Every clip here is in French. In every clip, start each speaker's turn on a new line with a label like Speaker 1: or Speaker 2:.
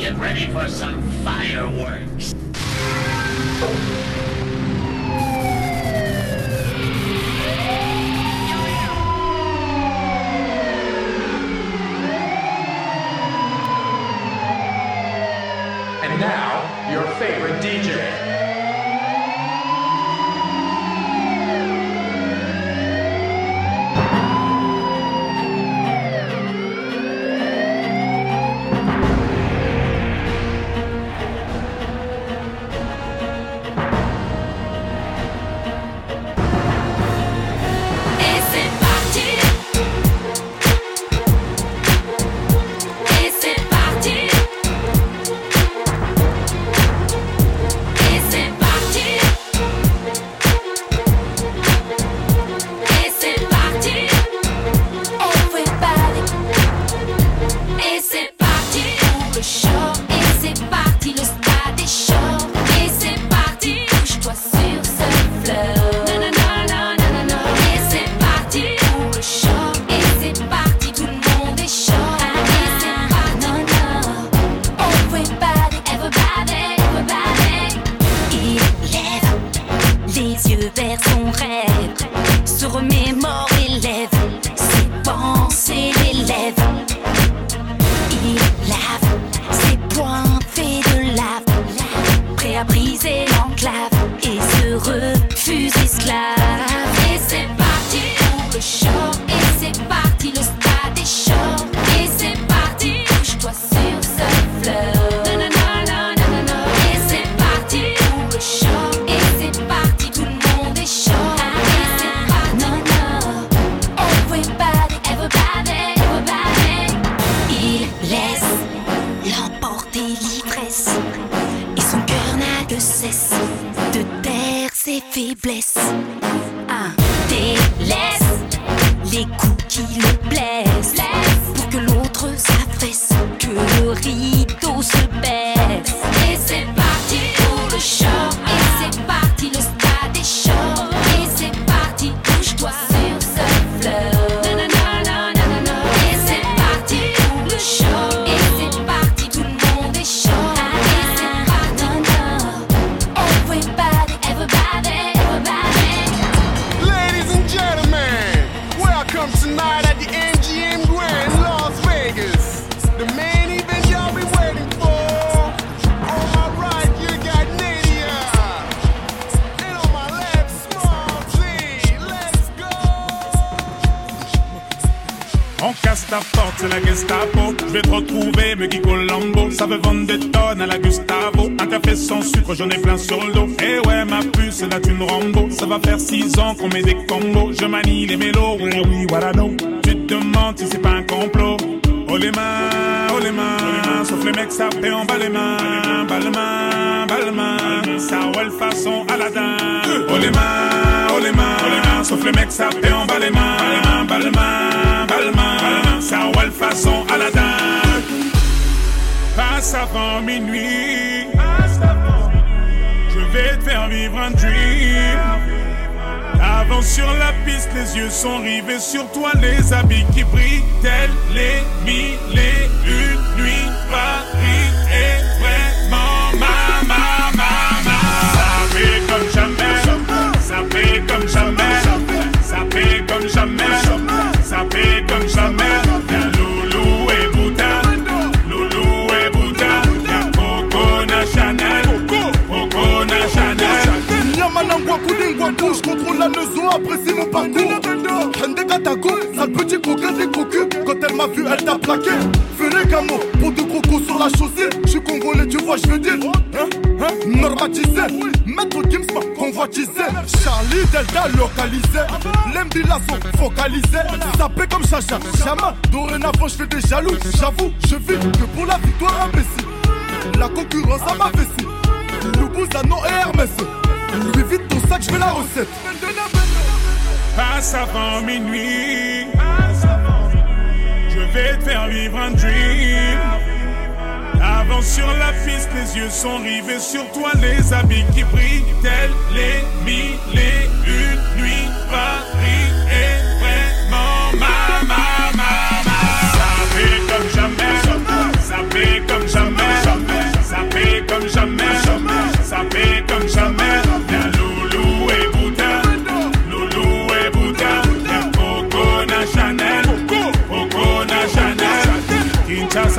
Speaker 1: Get ready for some fireworks.
Speaker 2: And now, your favorite DJ.
Speaker 3: On casse ta porte, c'est la Gestapo. Je vais te retrouver, me Guy Colombo. Ça veut vendre des tonnes à la Gustavo. Un café sans sucre, j'en ai plein sur le dos. Eh ouais, ma puce, là tu me Rambo. Ça va faire 6 ans qu'on met des combos. Je manie les mélos, oui, voilà, no. Tu te demandes si c'est pas un complot. Oh les mains, sauf les mecs ça fait en bas les mains. Balmain, ça roule façon Aladdin. Oh les mains, sauf les mecs ça fait en bas les mains. Balmain, ça roule façon Aladdin. Passe avant minuit, je vais te faire vivre un dream. Avance sur la piste, les yeux sont rivés sur toi, les habits qui brillent, tels les mille et une nuits. Paris est vraiment ma. Ça fait comme jamais, ça fait comme jamais, ça fait comme jamais, ça fait comme jamais. Y'a Loulou et Bouddha, y'a Coco Chanel.
Speaker 4: Yamanangwa Koudingwa Couche, contrôle la leçon, apprécie mon parcours. Hende Katako, sale petit coquin des cocus. Quand elle m'a vu, elle t'a plaqué. Fais les gamos, pour de crocos sur la chaussée. J'suis congolais, tu vois, j'veux dire. Normatisé, maître Gims m'a convoitisé. Charlie Delta localisé. L'embilasso focalisé. Sapé comme Chacha, Chama. Dorénavant, j'fais des jaloux. J'avoue, je vis que pour la victoire imbécile. La concurrence à ma vessie. Loubouzanon et Hermès. Lui vite ton sac, j'fais la recette.
Speaker 3: Passe avant minuit, je vais te faire vivre un dream. Avance sur la piste, les yeux sont rivés sur toi, les habits qui brillent, tels les mille et une nuits. Paris est vraiment ma. Ça fait comme jamais, ça fait comme jamais.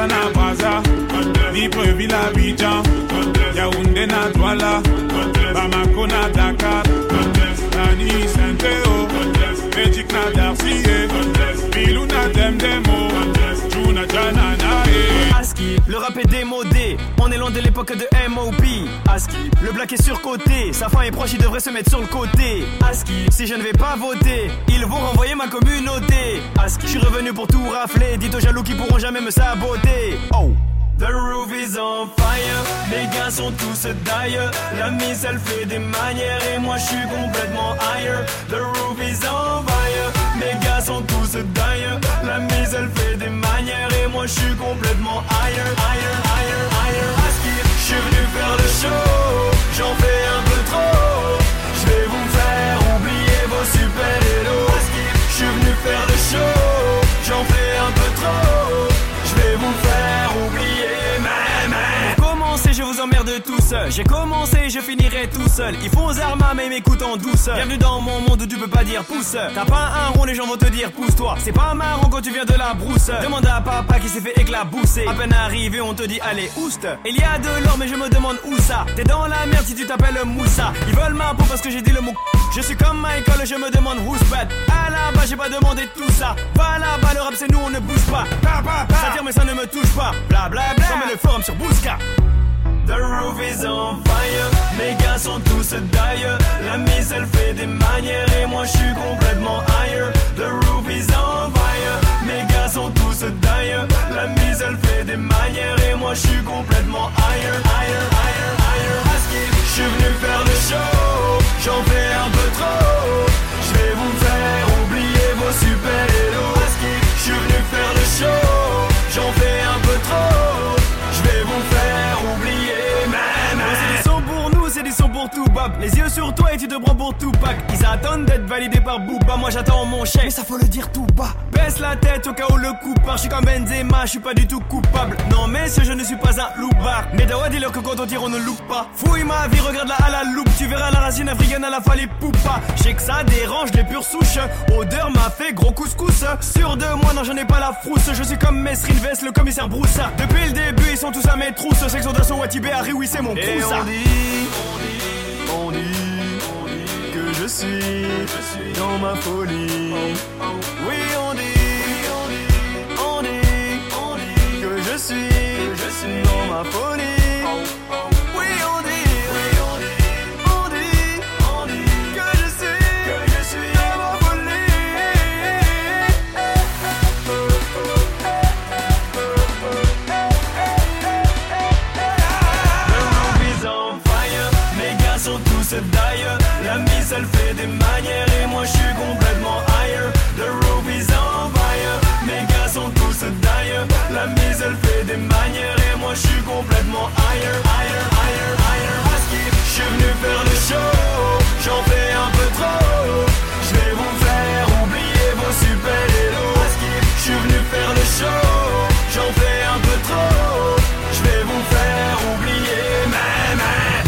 Speaker 3: na Braza, Libreville, Abidjan, Yaoundé na Douala, Bamako na Dakar, Nani Saint-Théo, Magic na Darcy, Bilou na Demdemo, Juna Janana.
Speaker 5: Aski, le rap est démodé, on est loin de l'époque de M.O.P. Aski, le black est surcoté, sa fin est proche, il devrait se mettre sur le côté. Aski, si je ne vais pas voter, ils vont renvoyer ma communauté. Aski, je suis revenu pour tout rafler, dites aux jaloux qui pourront jamais me saboter. Oh, the roof is on fire, mes gars sont tous d'ailleurs. La mise elle fait des manières et moi je suis complètement higher. The roof is on fire, mes gars sont tous d'ailleurs. La mise elle fait des manières et moi je suis complètement higher, higher, higher, higher. Aski, je suis venu faire le show, j'en fais un peu trop. Je vais vous faire oublier vos super-héros. Aski, je suis venu faire le show, j'en fais un peu trop. Je vais vous faire oublier. Je vous emmerde tous. J'ai commencé, je finirai tout seul. Ils font aux armes mais ils m'écoutent en douceur. Bienvenue dans mon monde où tu peux pas dire pouce. T'as pas un rond, les gens vont te dire pousse-toi. C'est pas marrant quand tu viens de la brousse. Demande à papa qui s'est fait éclabousser. À peine arrivé, on te dit allez oust. Il y a de l'or mais je me demande où ça. T'es dans la merde si tu t'appelles Moussa. Ils veulent ma peau parce que j'ai dit le mot. Je suis comme Michael, je me demande who's bad. À la base j'ai pas demandé tout ça. Va là-bas, le rap c'est nous, on ne bouge pas. Ça tire mais ça ne me touche pas. Bla bla bla. Comme le forum sur Bouska. The roof is on fire, mes gars sont tous d'ailleurs. La mise elle fait des manières et moi je suis complètement higher. The roof is on fire, mes gars sont tous d'ailleurs. La mise elle fait des manières et moi je suis complètement higher, higher, higher, higher. Aski, je suis venu faire le show, j'en fais un peu trop. Je vais vous faire oublier vos super-héros. Aski, je suis venu faire le show, j'en fais un peu trop. Je vais vous faire oublier. C'est des sons pour nous, c'est des sons pour tout bab. Les yeux sur toi et tu te prends pour tout pack. Ils attendent d'être validés par Booba. Moi j'attends mon chèque, mais ça faut le dire tout bas. Baisse la tête au cas où le coup part. Je suis comme Benzema, je suis pas du tout coupable. Non messieurs, je ne suis pas un loupard. Mais Dawa dis-leur que quand on tire on ne loupe pas. Fouille ma vie, regarde-la à la loupe. Tu verras la racine africaine à la fallait poupa. Je sais que ça dérange les pures souches. Odeur m'a fait gros couscous. Sûr de moi, non j'en ai pas la frousse. Je suis comme Mesrine Vest, le commissaire Broussa. Depuis le début ils sont tous à mes trousses. Section d'assaut Watibé, Harry, oui c'est mon Broussa. On dit que je suis dans ma folie. Oui on dit que je suis dans ma folie. Oui on dit que je suis dans ma folie. D'ailleurs, la mise elle fait des manières et moi je suis complètement higher. The roof is on fire, mes gars sont tous d'ailleurs. La mise elle fait des manières et moi je suis complètement higher, higher, higher, higher. Aski, je suis venu faire le show, j'en fais un peu trop. Je vais vous faire oublier vos super-héros. Aski, je suis venu faire le show, j'en fais un peu trop. Je vais vous faire oublier, même.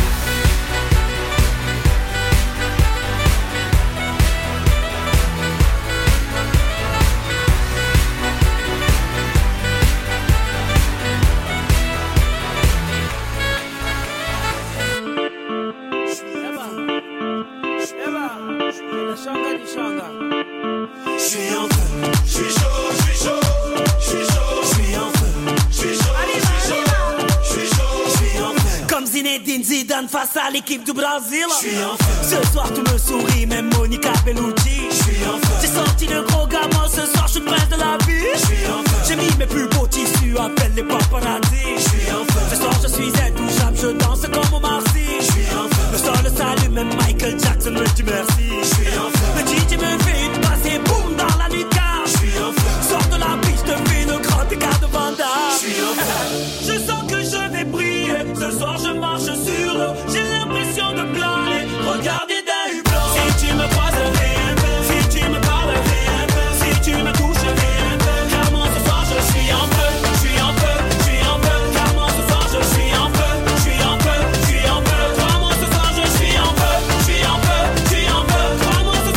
Speaker 6: Zinedine Zidane face à l'équipe du Brésil. Ce soir tu me souris, même Monica Bellucci. J'ai sorti le gros gamin, ce soir je suis le prince de la vie. J'ai mis mes plus beaux tissus, appelle les paparazzi. Ce soir je suis intouchable, je danse comme Omar Sy. Le sol s'allume, même Michael Jackson me dit merci. Le DJ me fait une passe et boum dans la lucarne. Sors de la piste, fais une grande écart de Vanda. Je sens que je vais briller, ce soir je marche sur l'eau. J'ai l'impression de planer, regardez d'un hublot. Si tu me croises, si tu me parles, si tu me touches, car moi ce soir je suis en feu, je suis en feu, je suis en feu. Car moi ce soir je suis en feu, je suis en feu, je suis en feu. Car moi ce soir je suis en feu, je suis en feu, je suis en feu. Car moi ce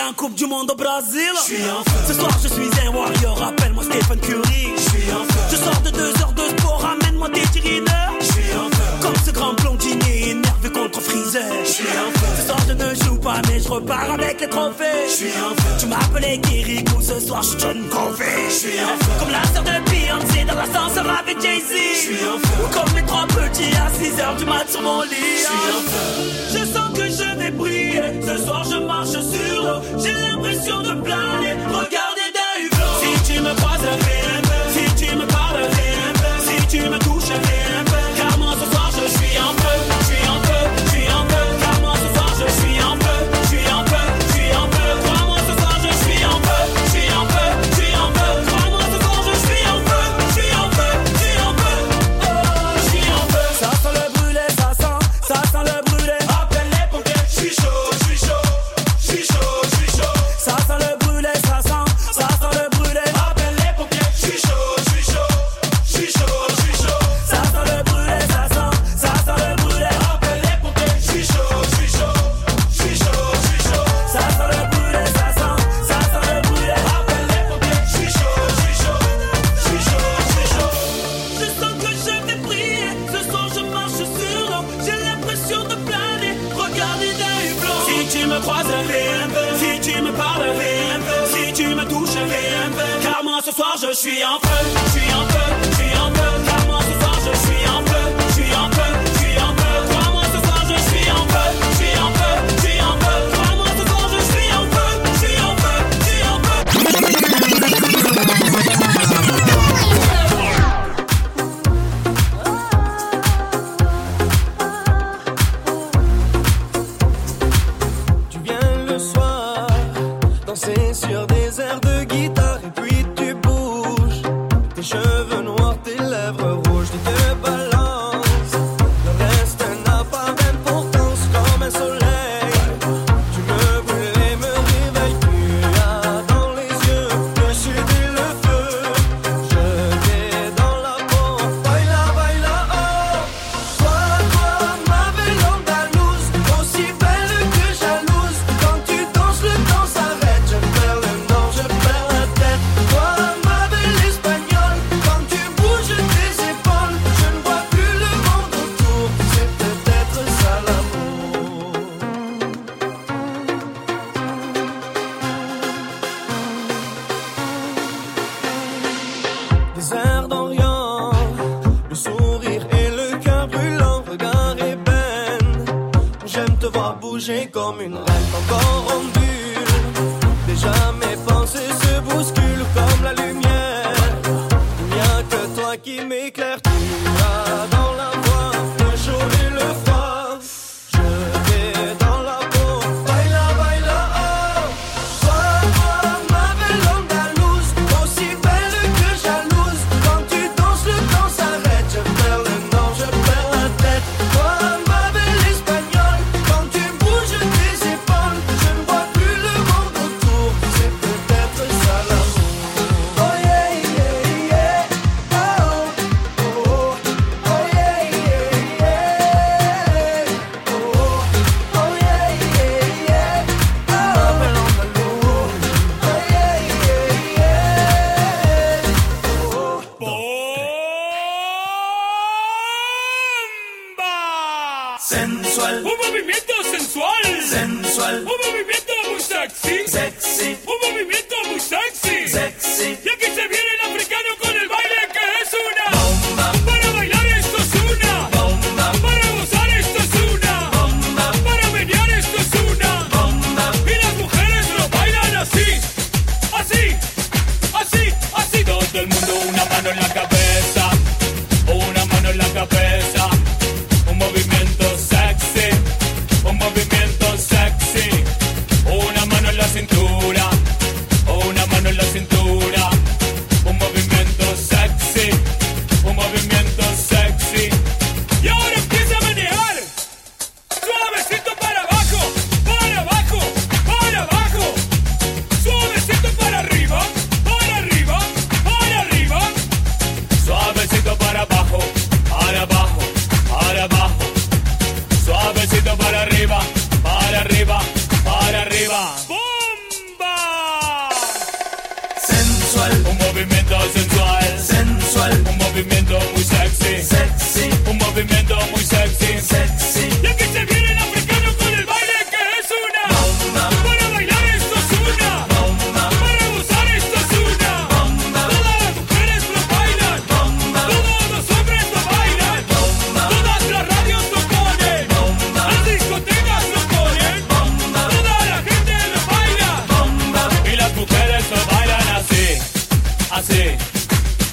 Speaker 6: en Coupe du Monde au Brésil. Ce soir je suis un warrior, appelle-moi Stephen Curry. Je sors de 2 heures de sport, ramène-moi des tirineurs. Comme ce grand blondinier énervé contre Freezer. Ce soir je ne joue pas mais je repars avec les trophées. Tu m'appelais Kirikou, ce soir je suis John Covey. Comme la sœur de Beyoncé dans l'ascenseur avec Jay-Z. Ou comme les 3 petits à 6h du mat sur mon lit. Je sens que je vais briller. Ce soir je marche sur l'eau. J'ai l'impression de planer. Regardez d'un hublot. Si tu me croises, fais un peu. Si tu me parles, fais un peu. Si tu me touches, fais un peu. Car moi ce soir je suis en feu. Je suis en feu, je suis en feu. Car moi ce soir je suis en feu. Je suis en feu, je suis en feu. Crois-moi ce soir je suis en feu. Je suis en feu, je suis en feu. Crois-moi ce soir je suis en feu. Je suis en feu, je suis en feu. Oh, je suis en feu. Ça sent le brûlé, ça sent le brûlé. Appelle les pompiers. Je suis chaud, je suis chaud. Je suis chaud, je suis chaud. Ça sent le brûlé, ça sent le brûlé. Appelle les pompiers. Je suis chaud, je suis chaud. Je suis chaud, je suis chaud. Ça sent le brûlé, ça sent le brûlé. Appelle les pompiers. Je suis chaud, je suis chaud. Je suis chaud, je suis chaud. Ça sent le brûlé, ça sent le brûlé. Appelle les pompiers. Je suis chaud, je suis chaud. Je suis chaud, je suis chaud. Je sens que je vais briller. Ce soir je marche sur l'eau. J'ai l'impression de planer. Regardez d'un hublot. Si tu me croises, fais un peu. Si tu me parles, fais un peu. Si tu me touches, fais un peu. Car moi ce soir je suis en feu. Je suis en feu, je suis en feu. Car moi ce soir je suis en feu. Je suis en feu, je suis en feu. Crois-moi ce soir je suis en feu. Je suis en feu, je suis en feu. Crois-moi ce soir je suis en feu. Je suis en feu, je suis en feu.
Speaker 7: Tu viens le soir, danser sur des airs de guitare et puis tu bouges. Tes cheveux noirs, tes lèvres rouges, tu te balances. Le reste n'a pas d'importance comme un soleil. Tu me brûles et me réveilles, tu as dans les yeux le sud et le feu. Je vais dans la peau, baila, baila, oh. Toi, ma belle andalouse, aussi belle que jalouse. Quand tu danses, le temps s'arrête. Je perds le nord, je perds la tête. Toi, ma belle espagnole, quand tu bouges tes épaules, je ne vois plus le monde autour. C'est peut-être ça l'amour. Des airs d'Orient, le sourire et le cœur brûlant, regard ébène. J'aime te voir bouger comme une reine encore en bulle. Déjà mes pensées se bousculent comme la lumière. Il n'y a que toi qui m'éclaire. Tu as dans la voix le chaud et le froid. Je vais dans la peau, baila, baila, oh. Toi, ma belle andalouse, aussi belle que jalouse. Quand tu danses, le temps s'arrête. Je perds le nord, je perds la tête. Toi, ma belle espagnole, quand tu bouges tes épaules, je ne vois plus le monde autour. C'est peut-être ça l'amour. Oh yeah, yeah, yeah. Oh, oh, oh. Oh yeah, yeah, yeah. Oh, oh yeah, yeah, yeah. Ma belle andalouse. Oh yeah, yeah, yeah.
Speaker 3: ¡Bomba!
Speaker 6: Sensual,
Speaker 3: Un movimiento sensual.
Speaker 6: sensual,
Speaker 3: Un movimiento muy sexy.
Speaker 6: sexy,
Speaker 3: Un movimiento muy sexy.
Speaker 6: sexy.
Speaker 3: Y aquí se viene el africano con el baile que es una.
Speaker 6: Bomba,
Speaker 3: Para bailar esto es una.
Speaker 6: bomba,
Speaker 3: Para gozar esto es una.
Speaker 6: bomba,
Speaker 3: Para menear esto es una.
Speaker 6: bomba.
Speaker 3: Y las mujeres lo bailan así. Así, así, así. Todo el mundo una mano en la cabeza. Una mano en la cabeza. Un movimiento sexy. Un movimiento sexy. Una mano en la cintura. Una mano en la cintura. Un movimiento sexy. Un movimiento sexy. Y ahora empieza a manejar. Suavecito para abajo. Para abajo. Para abajo. Suavecito para arriba. Para arriba. Para arriba.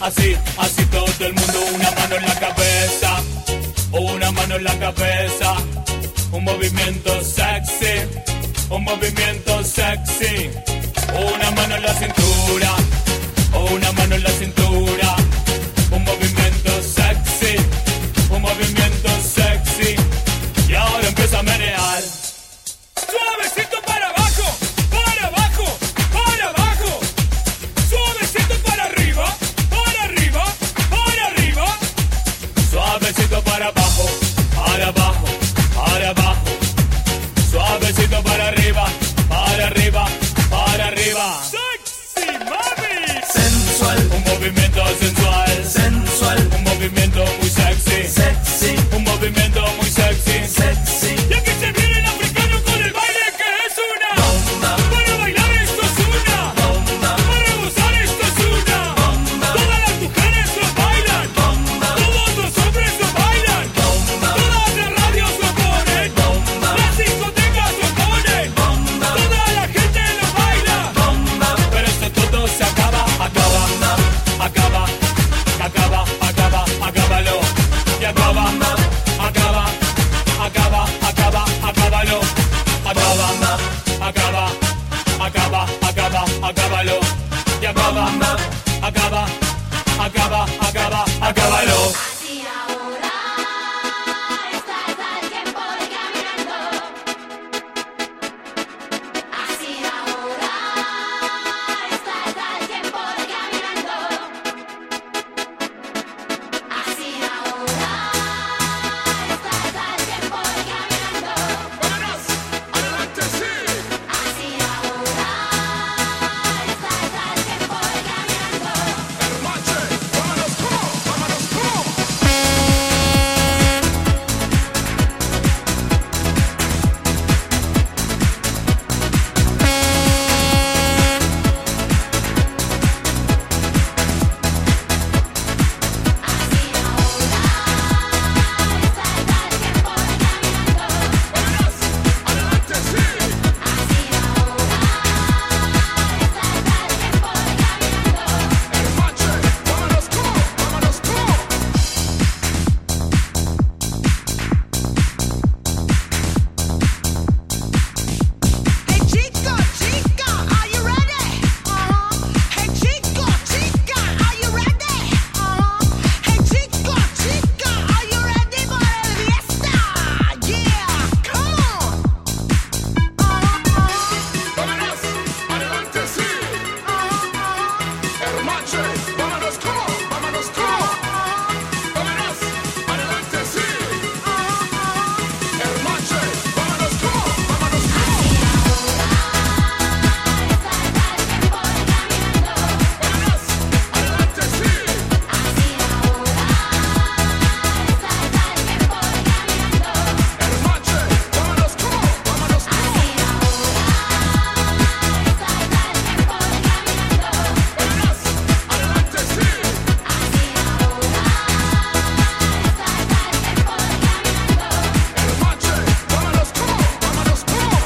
Speaker 8: así, así todo el mundo, una mano en la cabeza, una mano en la cabeza, un movimiento sexy, un movimiento sexy, una mano en la cintura, una mano en la cintura, un movimiento sexy, un movimiento sexy, y ahora empieza a menear. Suavecito para abajo, para abajo, para abajo. Suavecito para arriba, para arriba, para arriba. Suavecito para abajo, para abajo, para abajo. Suavecito para arriba, para arriba, para arriba. Sexy mami. Sensual, un movimiento sensual. Sensual, un movimiento muy sexy. Sexy, un movimiento muy sexy. Sexy. Y aquí se viene el africano con el baile que es una bomba. Para bailar esto es una bomba. Para gozar esto es una bomba. Todas las mujeres lo bailan bomba. Todos los hombres lo bailan bomba. Todas las radios lo ponen bomba. Las discotecas lo ponen bomba. Toda la gente lo baila bomba. Pero esto todo se acaba, acaba, acaba, acaba, acaba, acábalo. Y acaba, acaba, acaba, acaba, acábalo. Acaba, acaba, acaba, acaba, acábalo. Y acaba, acaba, acaba, acaba, acábalo.
Speaker 9: Así ahora está el tiempo de caminando. Así ahora está el tiempo de caminando. Así ahora está el tiempo de caminando.
Speaker 3: Vámonos, adelante, sí.
Speaker 9: Así ahora está el tiempo de caminando.
Speaker 3: Hermache, vámonos, come, vámonos, come.
Speaker 9: Así ahora está el tiempo de caminando.
Speaker 3: Vámonos, adelante, sí.
Speaker 9: Así ahora está el tiempo de caminando.
Speaker 3: Hermache, vámonos, come, vámonos, come.
Speaker 10: Hey chico, chica, are you ready? Hey chico, chica, are you ready? Hey chico, chica, are you ready for el fiesta? Yeah, come on.
Speaker 3: Vámonos, adelante, sí. Hermache, vámonos, come, vámonos, come. Vámonos, adelante, sí. Hermache, vámonos, come, vámonos, come. Vámonos, adelante, sí. Hermache, vámonos, come, vámonos, come. Vámonos, adelante, sí. Hermache, vámonos, come, vámonos, come.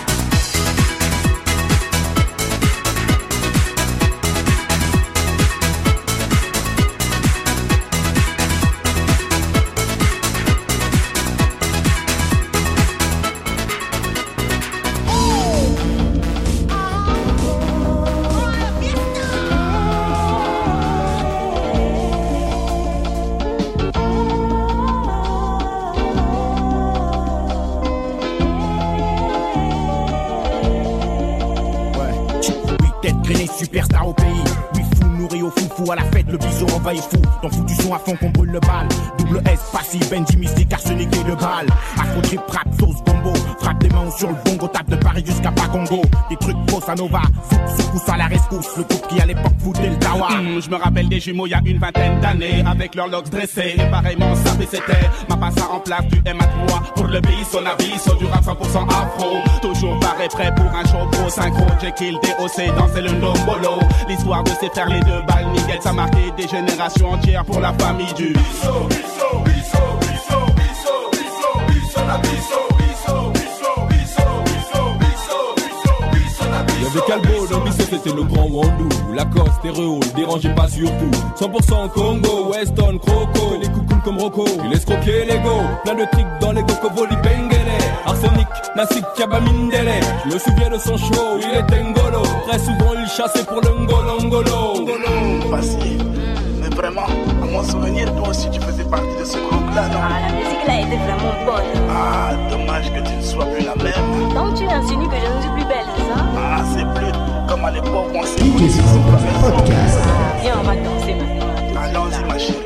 Speaker 11: Oui, tête grainée, superstar au pays. Oui, fou, nourri au foufou à la fête, le bison envahit fou. Dans fou du son à fond qu'on brûle le bal. Double S, passif, Benji mystique, arsenic et de balle. Afro trip, rap, sauce, gombo. Frappe des mains sur le bongo, tape de Paris jusqu'à Pacongo. Des trucs bossa nova, souk, secousse à la rescousse. Le groupe qui à l'époque foutait le tawa.
Speaker 12: Je me rappelle des jumeaux il y a une vingtaine d'années, avec leurs locks dressés, et pareillement sapé c'était ma passe en place du M3 pour le bis, son avis, du rap 100% afro. Toujours paré prêt pour un show pro synchro, Jekyll, DOC, danser le ndombolo. L'histoire de ces frères les deux balles, nickel, ça marquait des générations entières pour la famille du bisso, bisso, bisso, bisso, bisso, bisso, bisso, la bisso, bisso, bisso, bisso, bisso, bisso, bisso, bisso, la bisso.
Speaker 3: Y'avait Calbo dans Bisso
Speaker 13: c'était le grand Wandou. Lacoste, stéréo, le dérangez pas surtout. 100% Congo, Weston, Croco. Les coucounes comme Rocco, il laisse croquer l'ego. Plein de tricks dans les Gokoboli Bengele. Arsenic, Nassik, Kabamindele. Je me souviens de son show, il était ngolo. Très souvent il chassait pour le ngolo.
Speaker 14: Facile. Mais vraiment, à mon souvenir, toi aussi tu faisais partie de ce groupe-là, non?
Speaker 15: Ah, la musique là était vraiment bonne.
Speaker 14: Ah, dommage que tu ne sois plus la même.
Speaker 15: Donc tu insinues que je ne suis plus belle, c'est ça?
Speaker 14: Ah, c'est plus comme à l'époque où on s'est connus sur ce podcast.
Speaker 15: Viens, on va danser maintenant.
Speaker 14: Allons-y, ma chérie.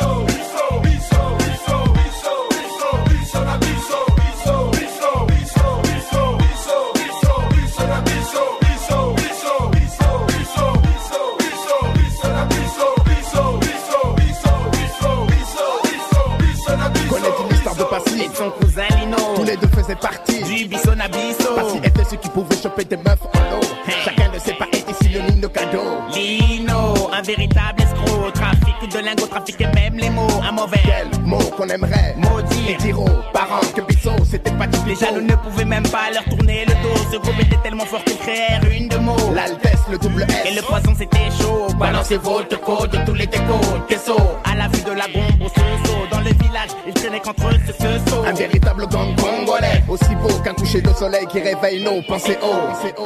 Speaker 11: Son cousin Lino, tous les deux faisaient partie du Bisson à Bisso. Parce qu'il était ceux qui pouvaient choper des meufs en eau. Chacun ne sait pas être synonyme de cadeau. Lino, un véritable escroc. Trafic de lingots, trafiquait même les mots. Un mauvais quel mot qu'on aimerait maudire. Les tiro, parents, que Bisso, c'était pas du Les jaloux ne pouvaient même pas leur tourner le dos. Ce groupe était tellement fort qu'ils créèrent une de mots. L'Altesse, le double S. Et le poison c'était chaud. Balancez votre code, tous les décos. Queso, à la vue de la gombe au Soso. Dans le village, ils traînaient contre eux ce saut. Un véritable gang congolais, aussi beau qu'un coucher de soleil qui réveille nos pensées haut.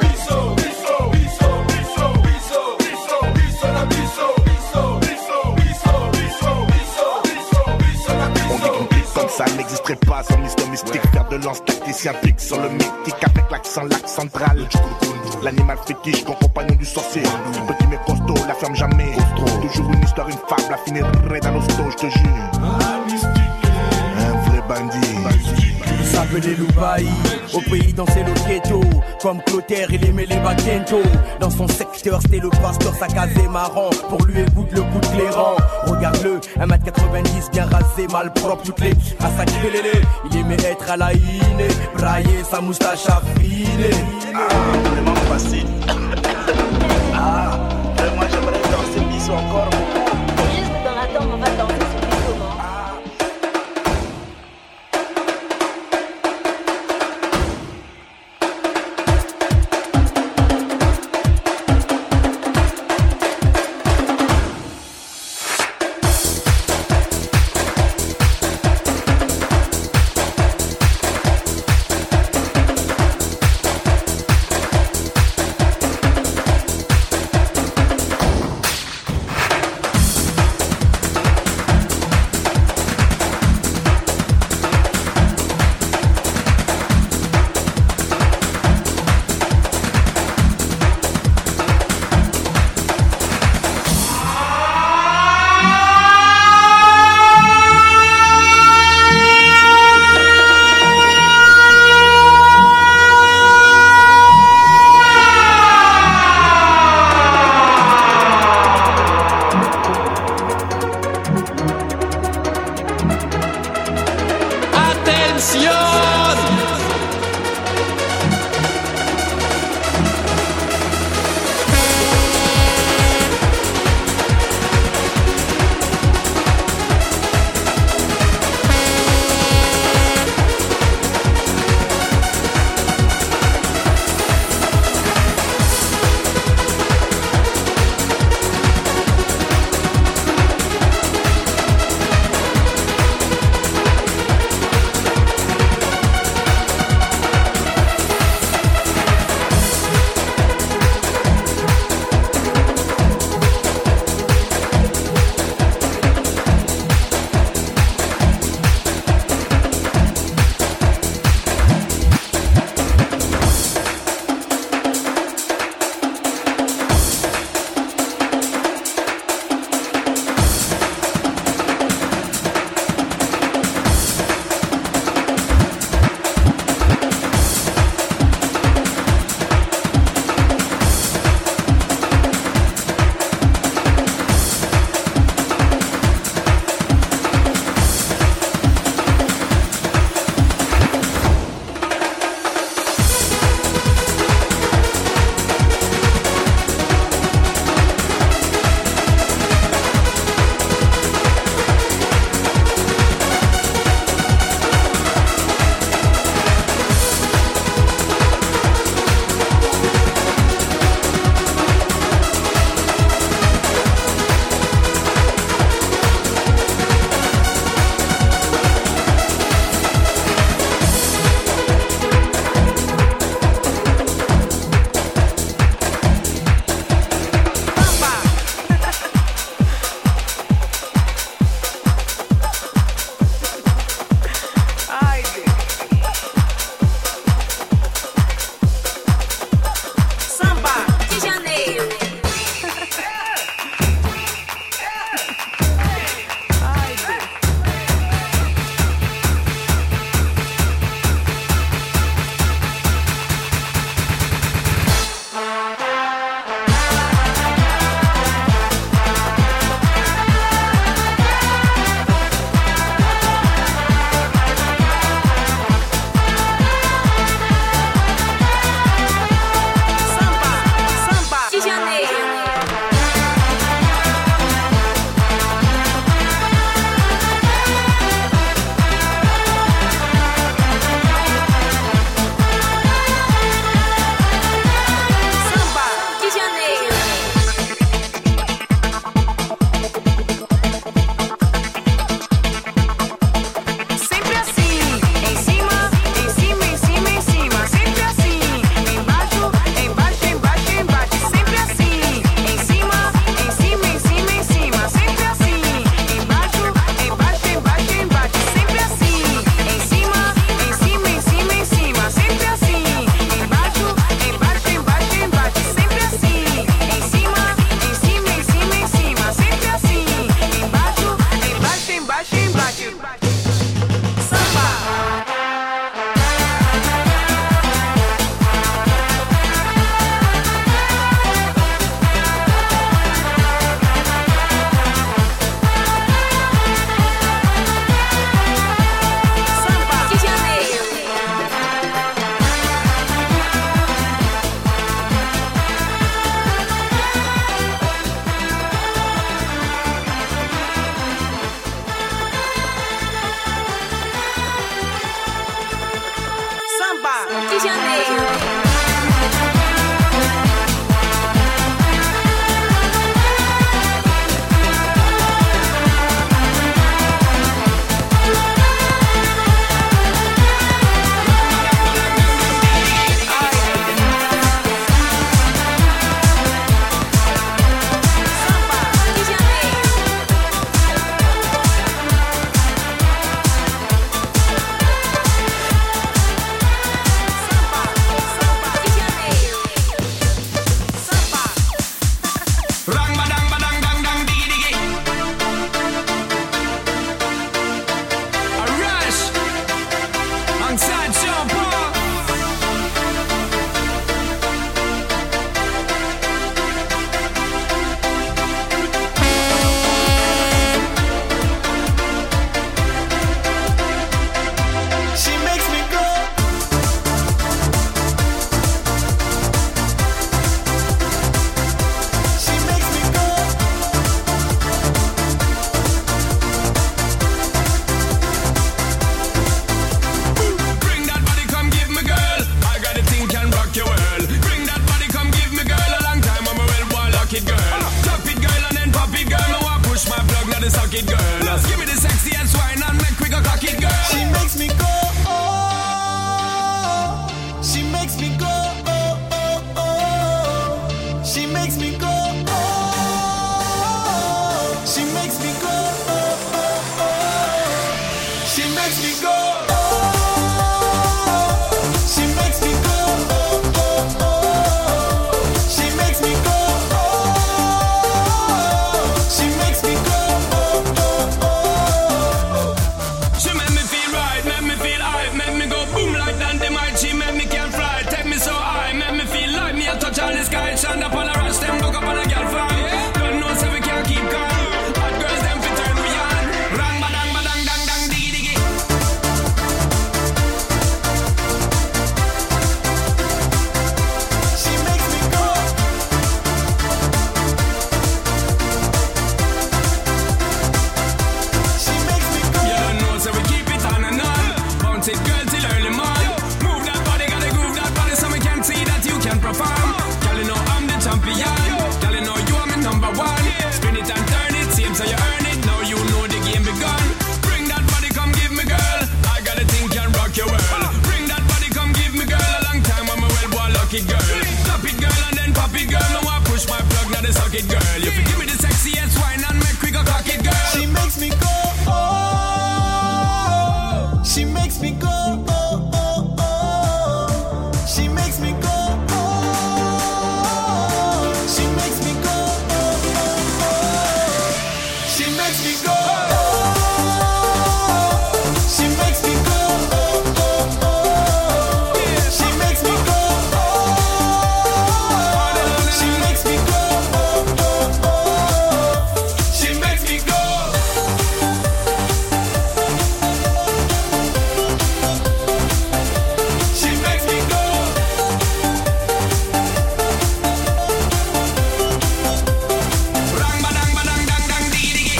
Speaker 16: Comme ça n'existerait pas sans l'histoire mystique. Faire de lance tacticien pique sur le mythique avec l'accent lac central. L'animal fétiche, ton compagnon du sorcier. Petit mais costaud, la ferme jamais. Toujours une histoire, une fable, la finirait dans l'hosto, je te jure. Un vrai bandit.
Speaker 17: Il s'appelait Loubaï, au pays dansait le ghetto. Comme Clotaire, il aimait les baguettes. Dans son secteur, c'était le pasteur, sa casée marrant. Pour lui, écoute le coup de clairon. Regarde-le, 1m90, bien rasé, mal propre, toutes les à sa lélé. Il aimait être à la iné, brailler sa moustache affinée.
Speaker 14: Ah, vraiment facile. Ah, vraiment, j'aimerais danser Bisso encore beaucoup.
Speaker 15: Juste dans la tombe, on va danser sur Bisso, non?
Speaker 5: girl. Just give me the sexy ass wine and make we go cock it, girl.
Speaker 18: She makes me go, oh. She makes me go, oh, oh, oh. She makes me go, oh. She makes me go, oh, oh, oh. She makes me go, oh. She makes me go, oh, oh, oh. She makes me go, oh. She makes me go, oh, oh, oh.
Speaker 5: She make me feel right, make me feel high, make me go boom like dynamite. She make me can fly, take me so high, make me feel like me a touch all the sky. Stand up on a rush, them look up on a girl farm. Don't know so we can't keep calm. Hot girls them fit turn we on. Rang badang badang dang dang diggy diggy.
Speaker 18: She makes me go. She makes me go.
Speaker 5: You don't know so we keep it on and on. Bounce it girl till early morning. Move that body, gotta groove that body so we can see that you can perform. Girl, you know I'm the champion. Girl, you know you are my number one. Spin it and turn it, same so you earn it. Now you know the game begun. Bring that body, come give me, girl. I got a thing can rock your world. Bring that body, come give me, girl. A long time I'm a well boy, luck it, girl. Clap it, girl, and then pop it, girl. Now I push my plug, now they suck it, girl. You give me the sexiest wine and make we go cock it, girl.
Speaker 18: She makes me go, oh. She makes me go, oh, oh, oh. She makes me go, oh. She makes me go, oh, oh, oh. She makes me go, oh. She makes me go, oh, oh, oh. She makes me go, oh. She makes me go, oh, oh, oh. She makes me go. She makes me go.
Speaker 5: Rang badang badang dang dang diggy diggy.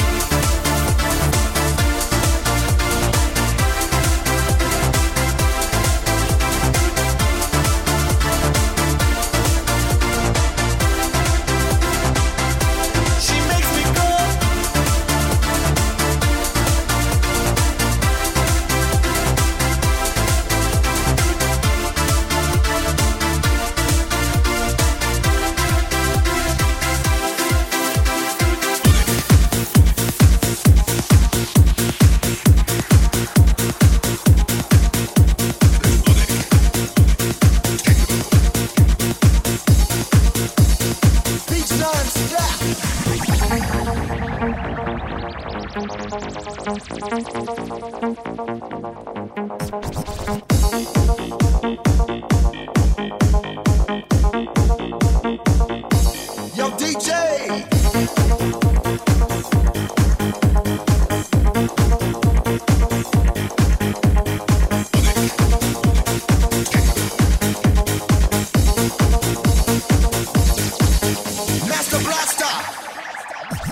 Speaker 18: She makes me go. Beach non-stop. Yo, DJ. Master Blaster.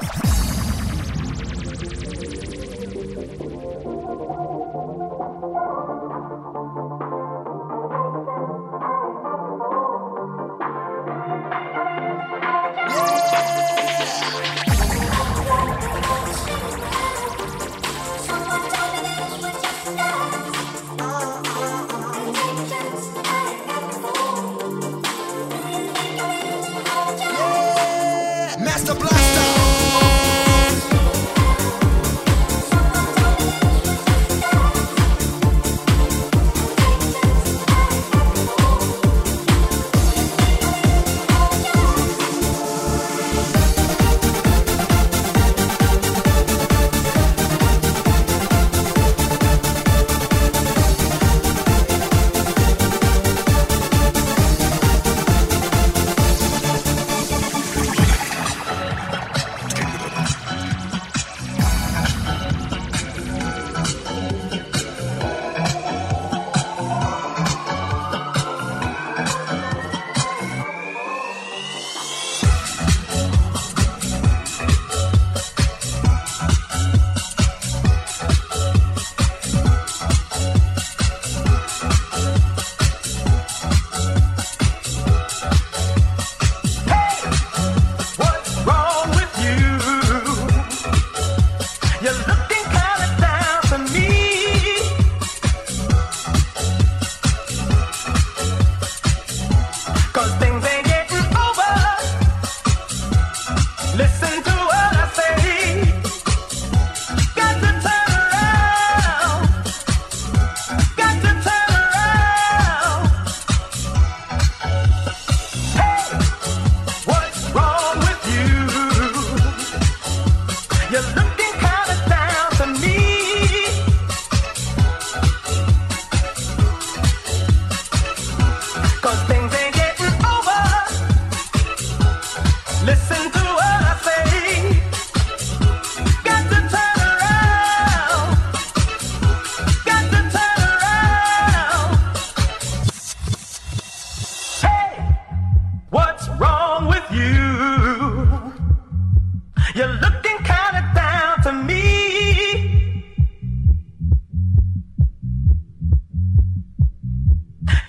Speaker 18: Yeah.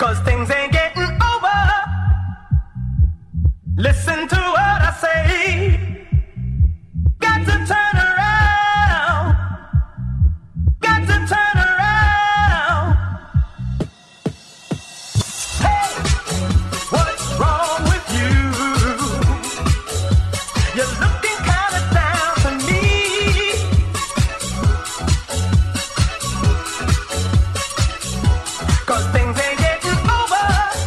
Speaker 18: 'cause things ain't getting over. Listen to what I say. Got to turn around. Got to turn around. Hey, what's wrong with you? You're looking kinda down to me. 'Cause things ain't getting over.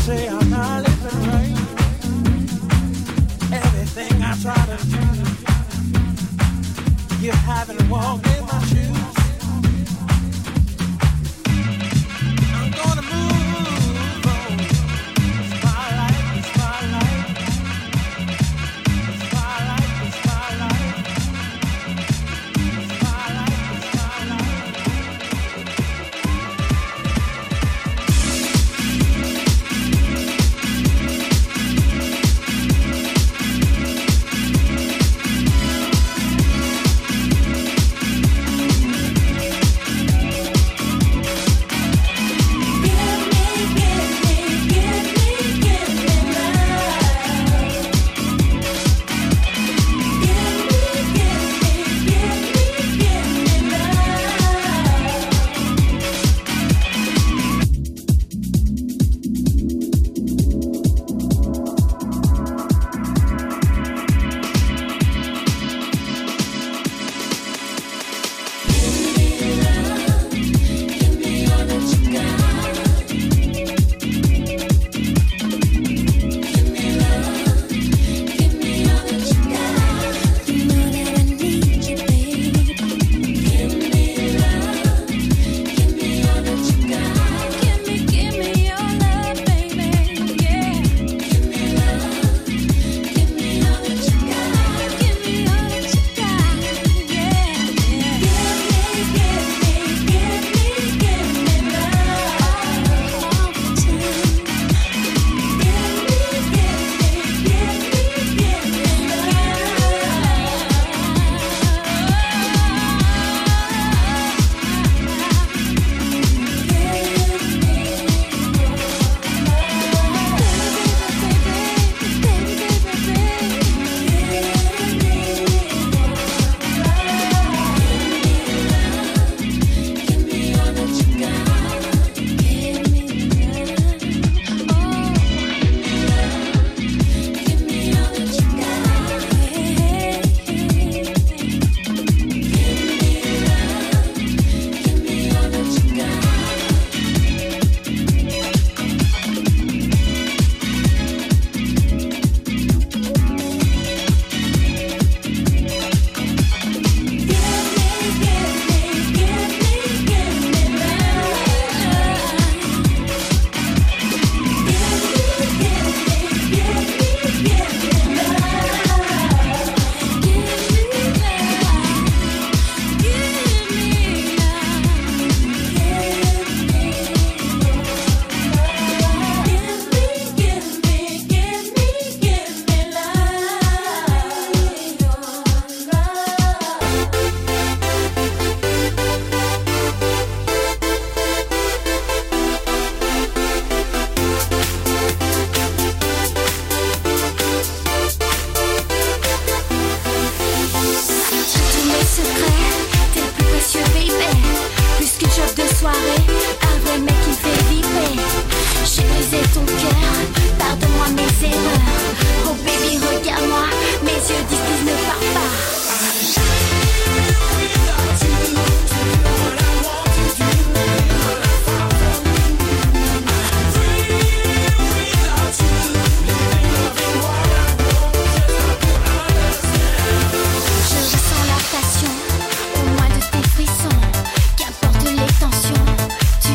Speaker 18: say I'm not living right. Everything I try to do, you haven't walked in my shoes. I'm gonna move on. It's my life, it's my life. It's my life, it's my life. It's my life, it's my life.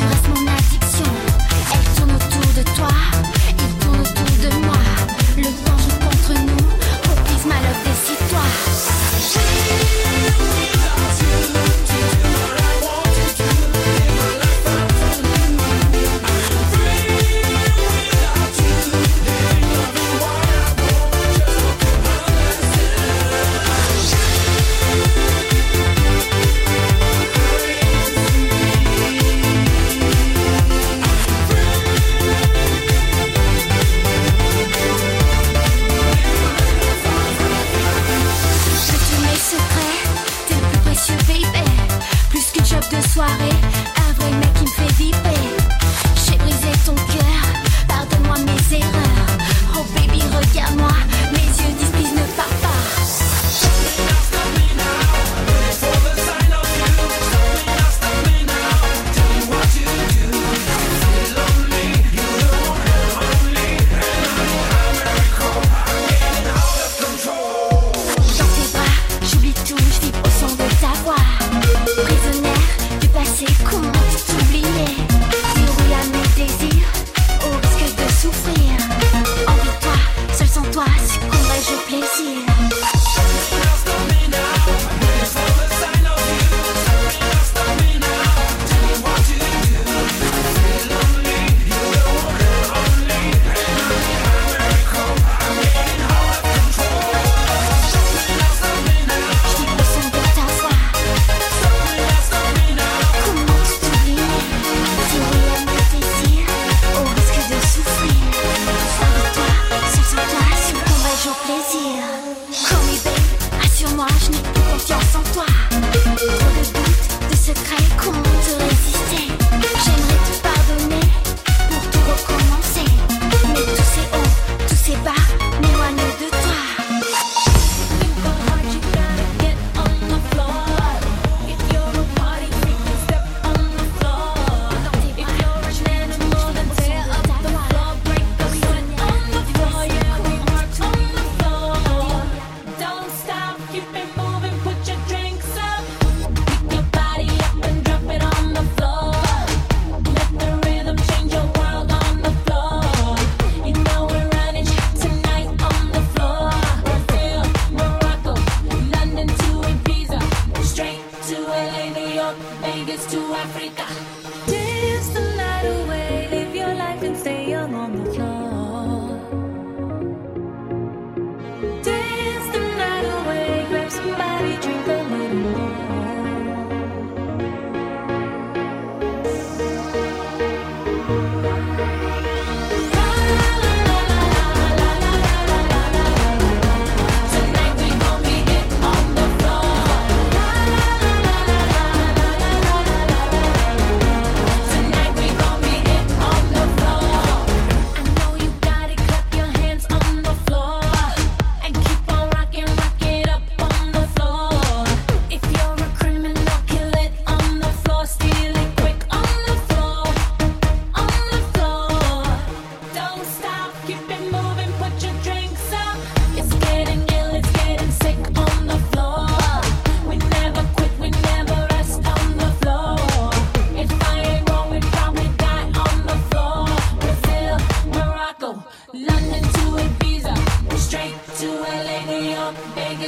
Speaker 9: Le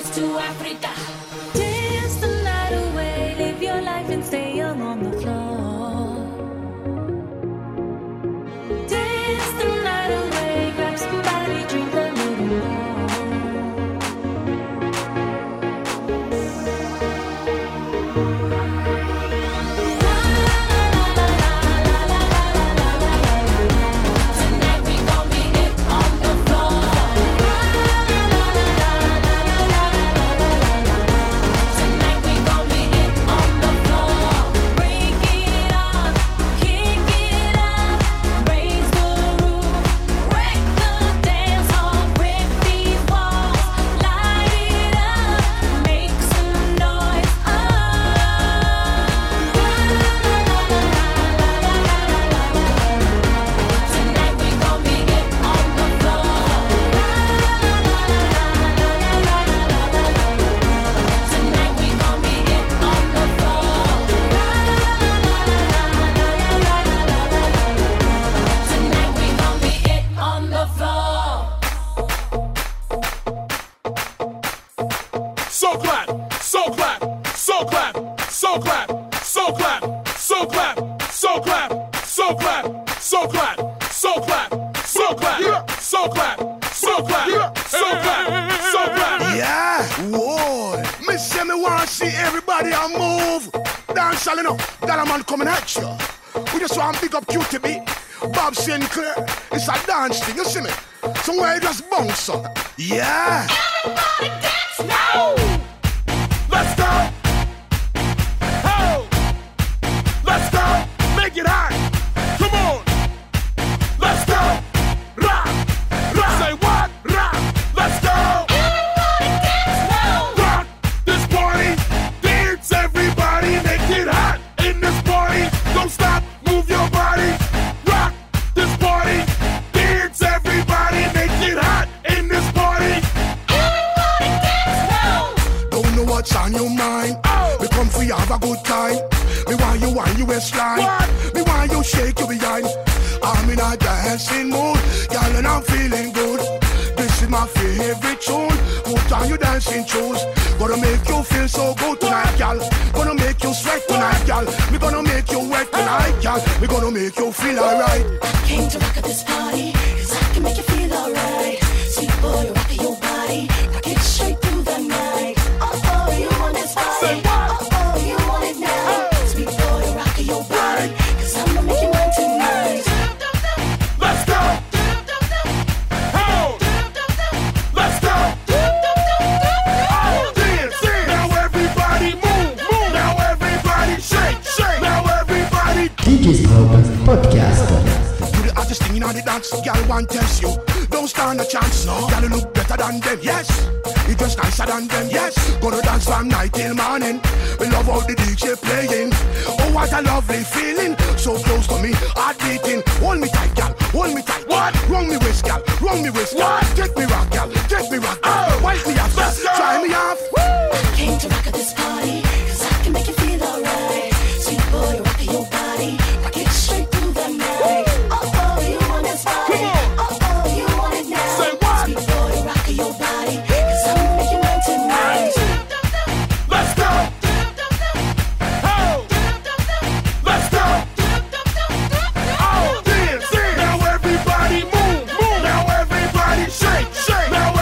Speaker 9: Here's to Africa.
Speaker 19: Dance the night away, live your life and stay young on the floor. Dance the night away, grab somebody, drink a little more.
Speaker 9: Tonight we gon' be it on the floor. Tonight we gon' be it on the floor. Break it up, kick it up, raise the roof, wreck the dance hall, rip these walls, light it up, make some noise. Tonight we gon' be it on the floor. Tonight we gon' be it on the floor. Tonight we gon' be it on the floor.
Speaker 3: So clap, so clap, so clap, so clap, so clap, so clap, so clap, so clap, so clap, so clap, so clap, so clap, so clap, so clap, so clap.
Speaker 16: Yeah, whoa. Me say me want see everybody a move. Dance all enough, that a man coming at you. We just want to pick up QTB, Bob Sinclair. It's a dance thing, you see me? Somewhere you just bounce up. Yeah.
Speaker 9: Everybody dance now.
Speaker 3: Let's go. Oh, let's go. Make it hot. Come on. Let's go. Rock, rock. Say what? Rock. Let's go.
Speaker 9: Everybody dance now.
Speaker 3: Rock this party. Dance everybody. Make it hot in this party. Don't stop. Move your body. Rock this party. Dance everybody. Make it hot in this party.
Speaker 9: Everybody dance now.
Speaker 16: Don't know what's on your mind. We come for you have a good time. Me want you on your waistline. Me want you shake your behind. I'm in a dancing mood, girl, and I'm feeling good. This is my favorite tune. Put on your dancing shoes. Gonna make you feel so good tonight, girl. Gonna make you sweat tonight, girl. We gonna make you wet tonight, girl. We gonna make you feel alright.
Speaker 6: Came to rock at this party, 'cause I can make you feel alright. Sweet boy, rock your body, rock it straight through the night. Oh, you want this party? Oh, you want it now? Sweet boy, rock your body, 'cause I'ma make you mine tonight.
Speaker 3: Let's go. Oh, let's go. Oh, dance. Now everybody move, move. Now everybody shake, shake. Now everybody.
Speaker 20: DJ's Podcast.
Speaker 16: You the hottest thing in the dance, girl, want test you. Don't stand a chance, no. Girl, you look better than them, yes. You dress nicer than them, yes. Gonna dance from night till morning. We love all the DJ playing. Oh, what a lovely feeling. So close to me, heart beating. Hold me tight, girl, hold me tight. What? Wrong me waist, girl, wrong me waist. What? Take me rock, girl, take me rock, girl. Wipe me off, try me off.
Speaker 6: Came to rock at this party, 'cause I can make you feel alright. Sweet boy, rock your body, rock it straight through the night. Oh, you want this party? Oh, you want it now?
Speaker 3: Say what?
Speaker 6: Sweet boy, rock your body, 'cause I'ma make you mine tonight.
Speaker 3: Let's go. Oh, let's go. Oh, dance. Now everybody move, move. Now everybody shake, shake. Now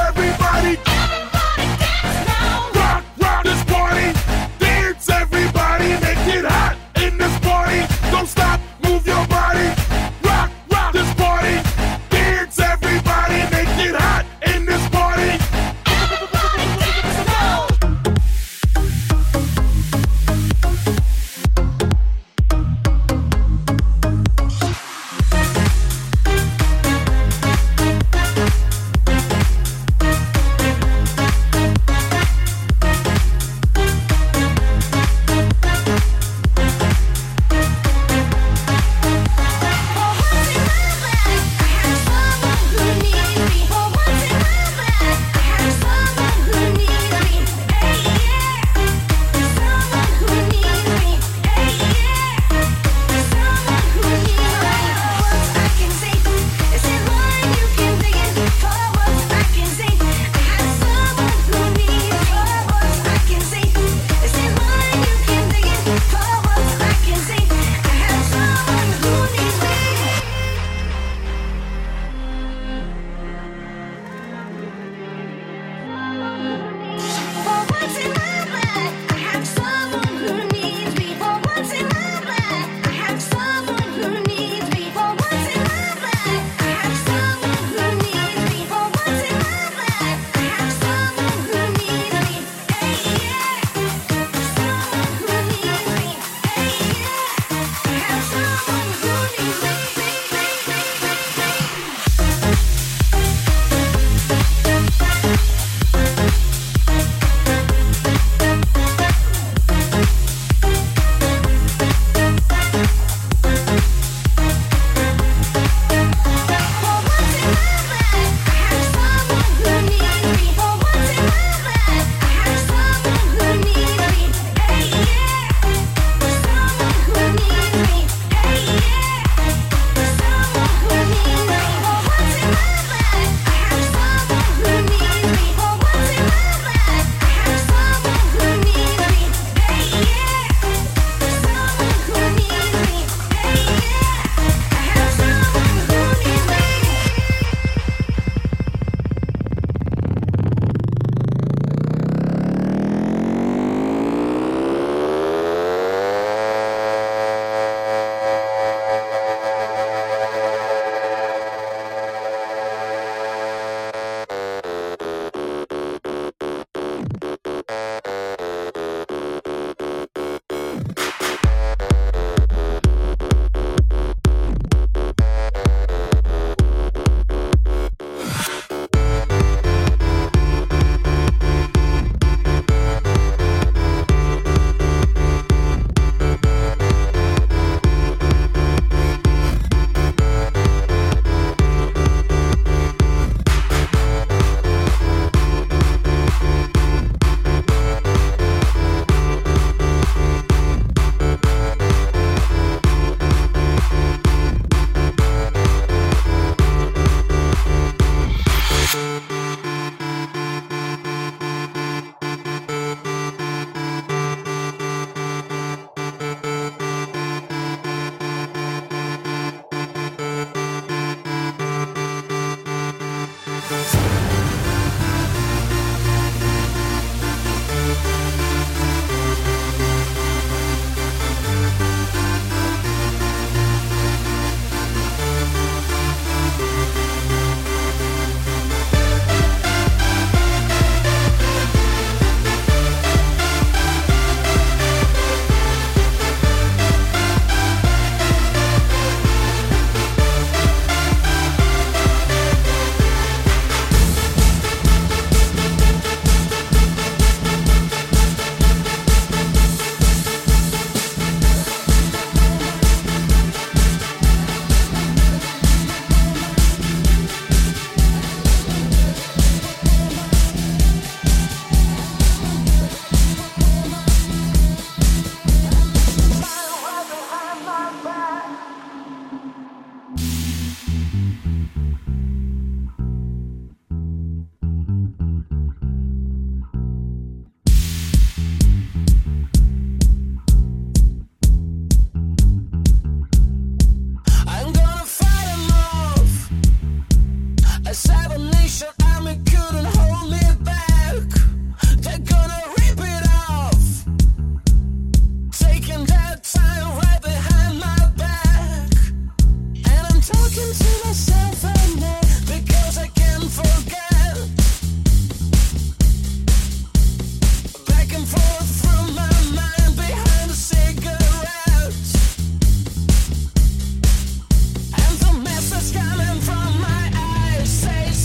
Speaker 18: Coming from my eyes says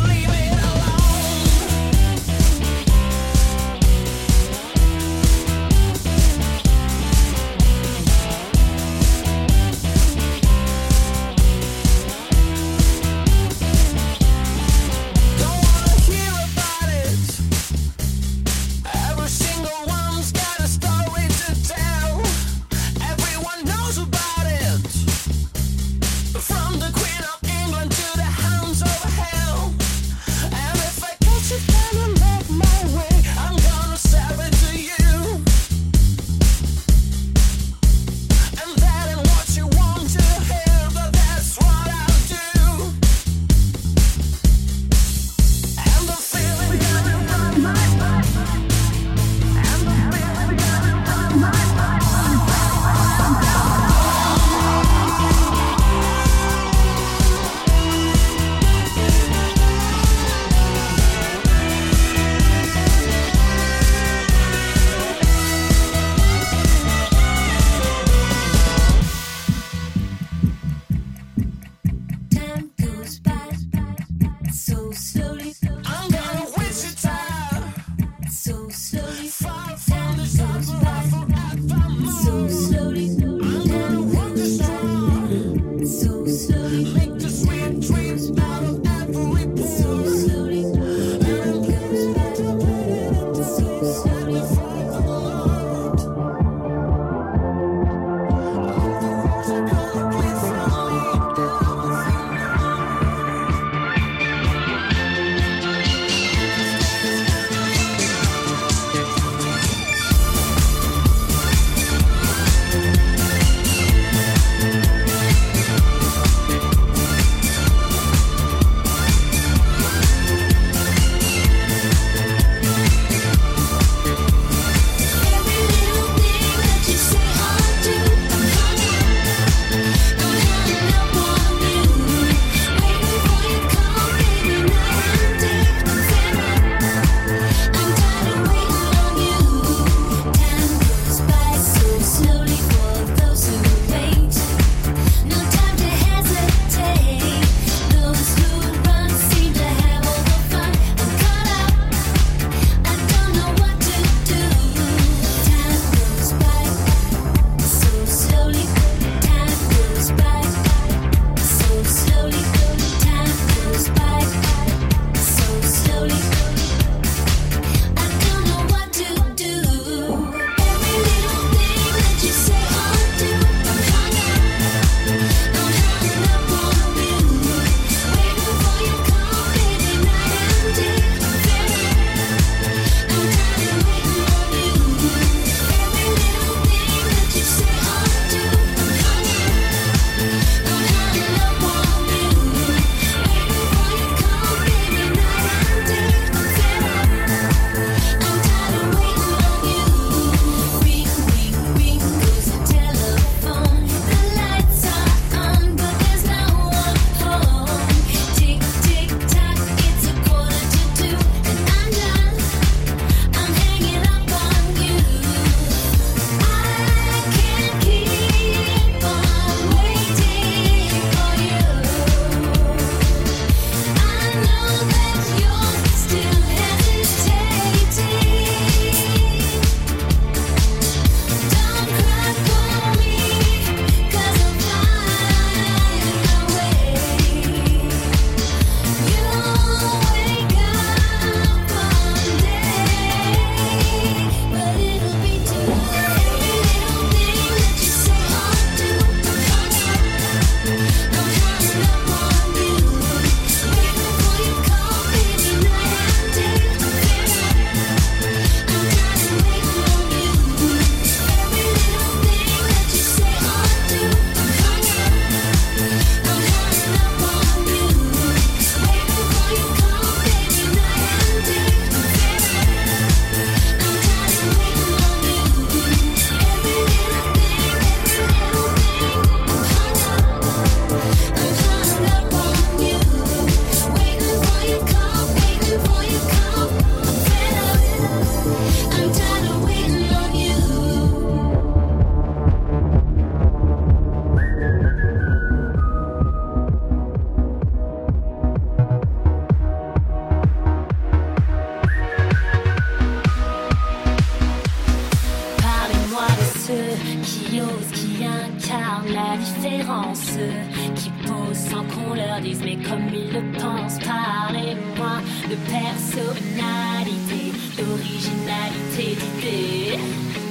Speaker 19: disent, mais comme ils le pensent. Parlez-moi de personnalité, d'originalité, d'idée.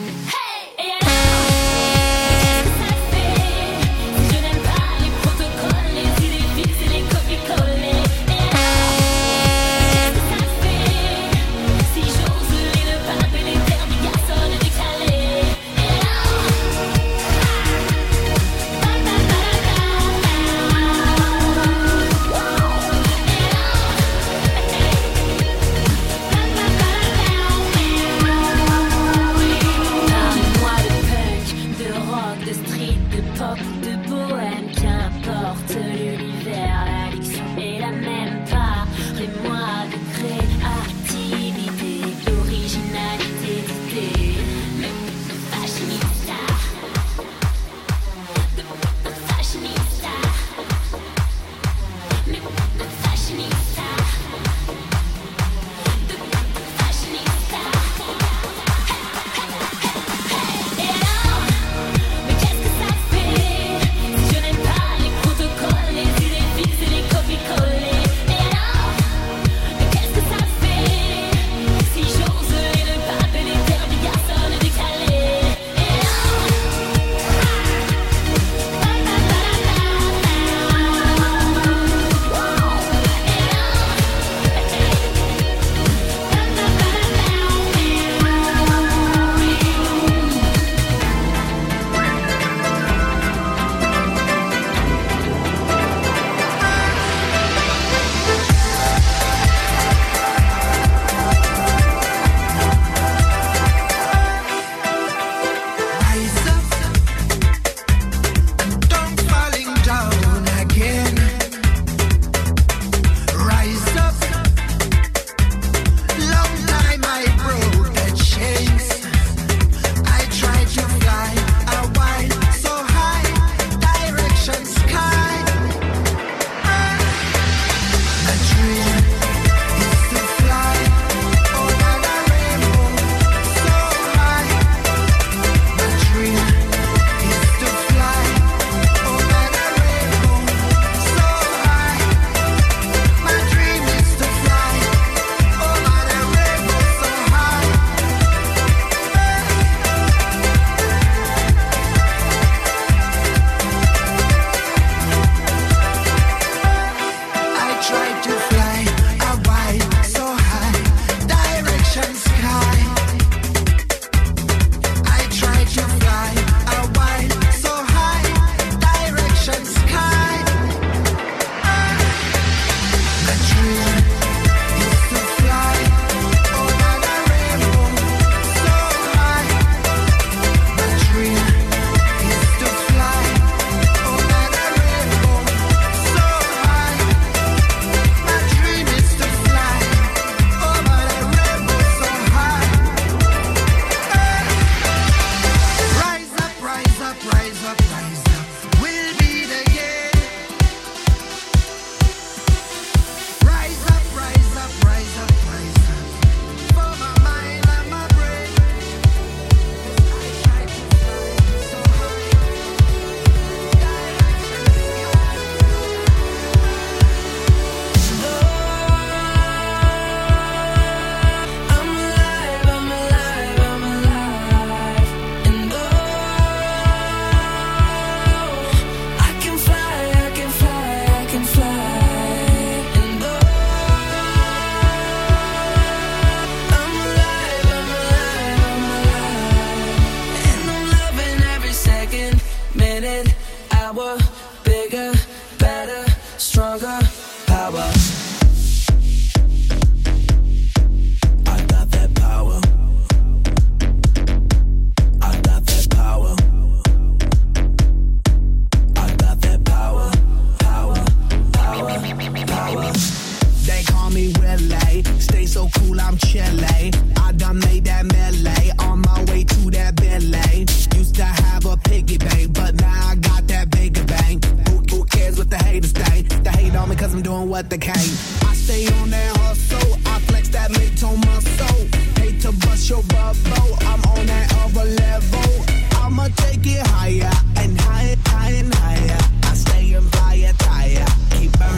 Speaker 21: what the cane. I stay on that hustle, I flex that mid-tone muscle. Hate to bust your bubble, I'm on that other level. I'ma take it higher and higher, higher and higher. I stay in fire tire, keep burning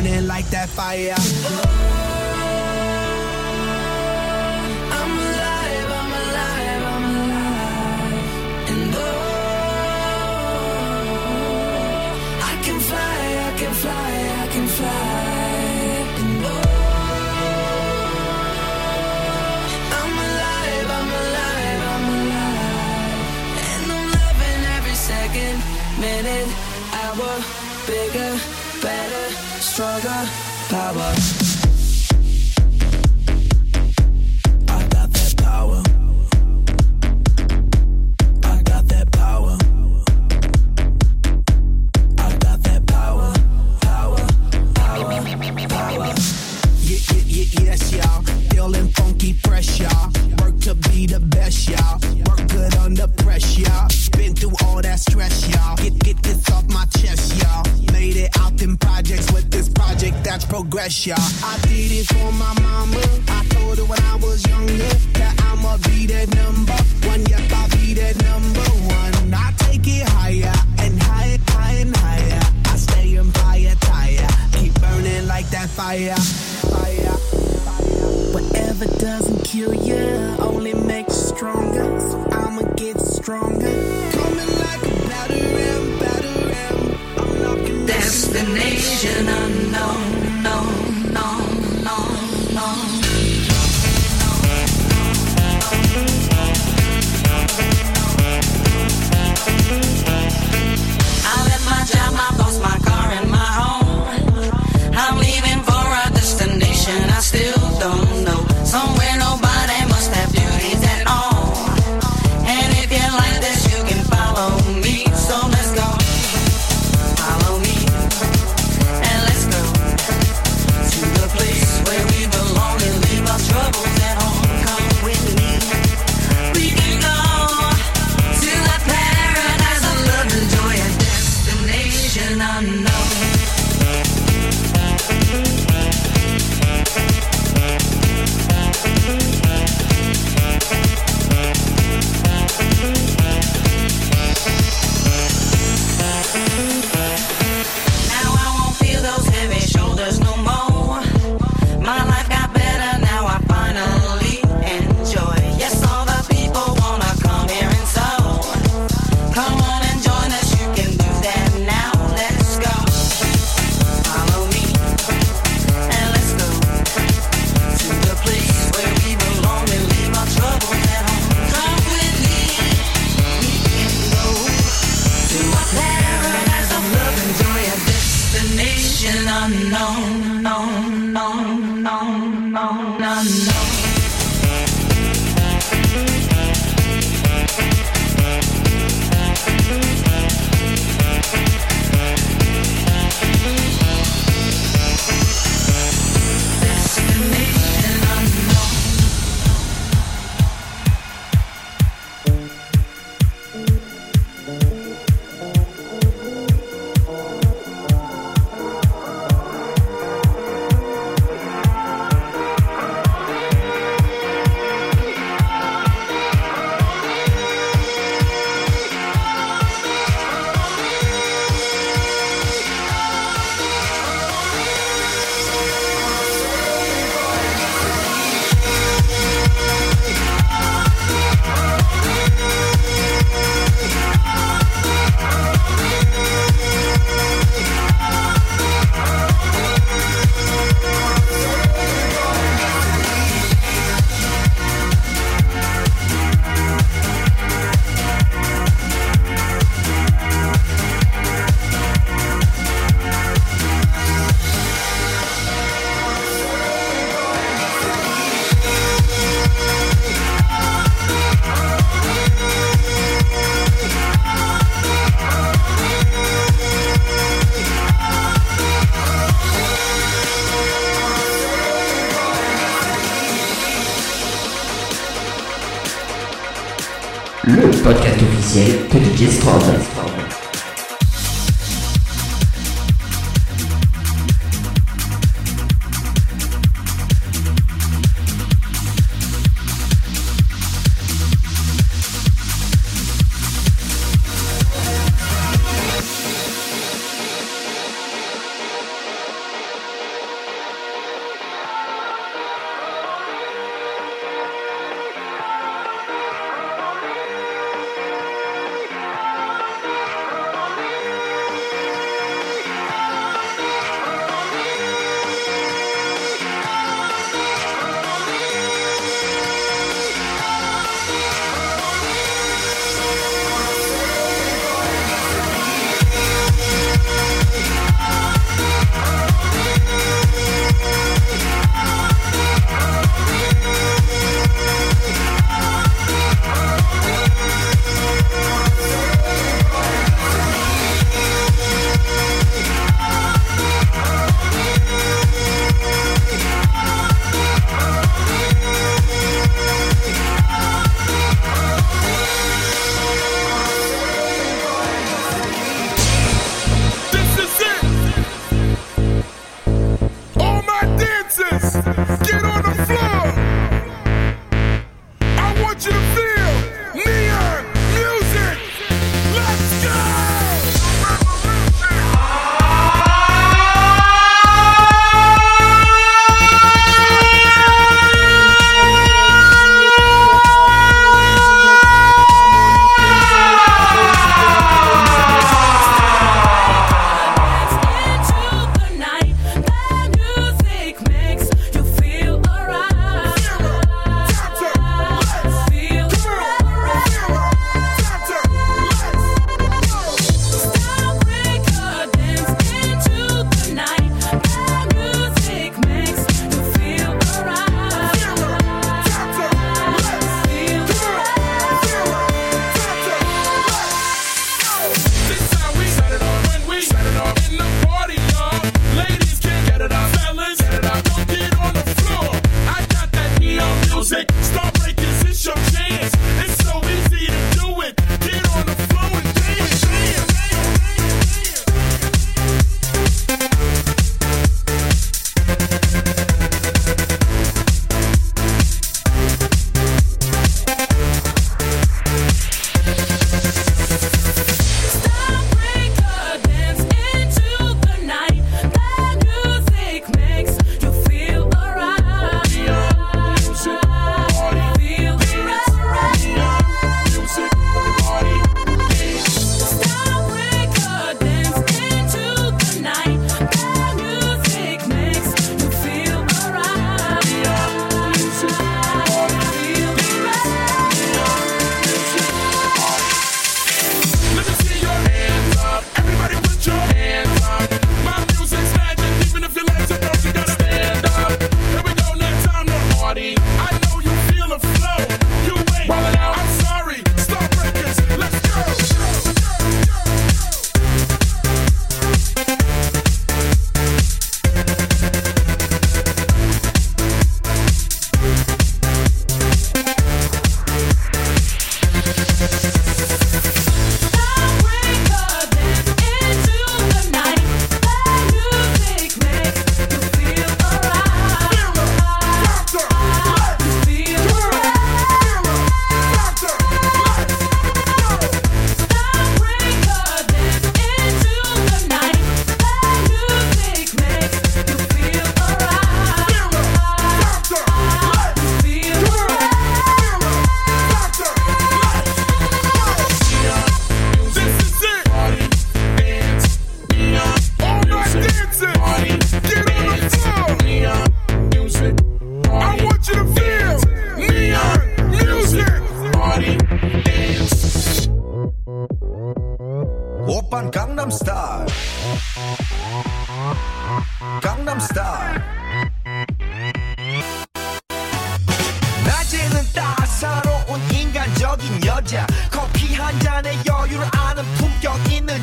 Speaker 21: like that fire.
Speaker 10: I'm alive, I'm alive, I'm alive. And oh, I can fly, I can fly, I can fly. And oh, I'm alive, I'm alive, I'm alive. And I'm loving every second, minute, hour, bigger, better, stronger, power.
Speaker 21: Yes, y'all. Feeling funky, fresh, y'all. Work to be the best, y'all. Work good under pressure, y'all. Been through all that stress, y'all. Get this off my chest, y'all. Made it out in projects with this project that's progress, y'all. I did it for my mama. I told her when I was younger that I'ma be that number one. Yep, I'll be that number one. I take it higher and higher, higher and higher. I stay on fire, tire. Keep burning like that fire. Whatever doesn't kill you only makes you stronger. So I'ma get stronger. Coming like a batter ram. I'm knocking
Speaker 10: Destination unknown, no, no, no, no. I left my job, my boss, my car, and my home. I'm leaving for a destination I still don't know. Somewhere nobody must have duties at all. And if you like this, you can follow me. So let's go. Follow me. And let's go to the place where we belong and leave our troubles at home. Come with me. We can go to a paradise of love and joy, a destination unknown. Now I won't feel those heavy shoulders no more. My life got better, now I finally enjoy. Yes, all the people wanna come here and so. Come on and join us, you can do that now. Let's go. Follow me and let's go to the place where we belong and leave our troubles at home. Come with me, we can go to a paradise of love and joy, a destination unknown, no, no, no, no, no, no. Destination unknown.
Speaker 20: Le podcast officiel de DJ Strobe.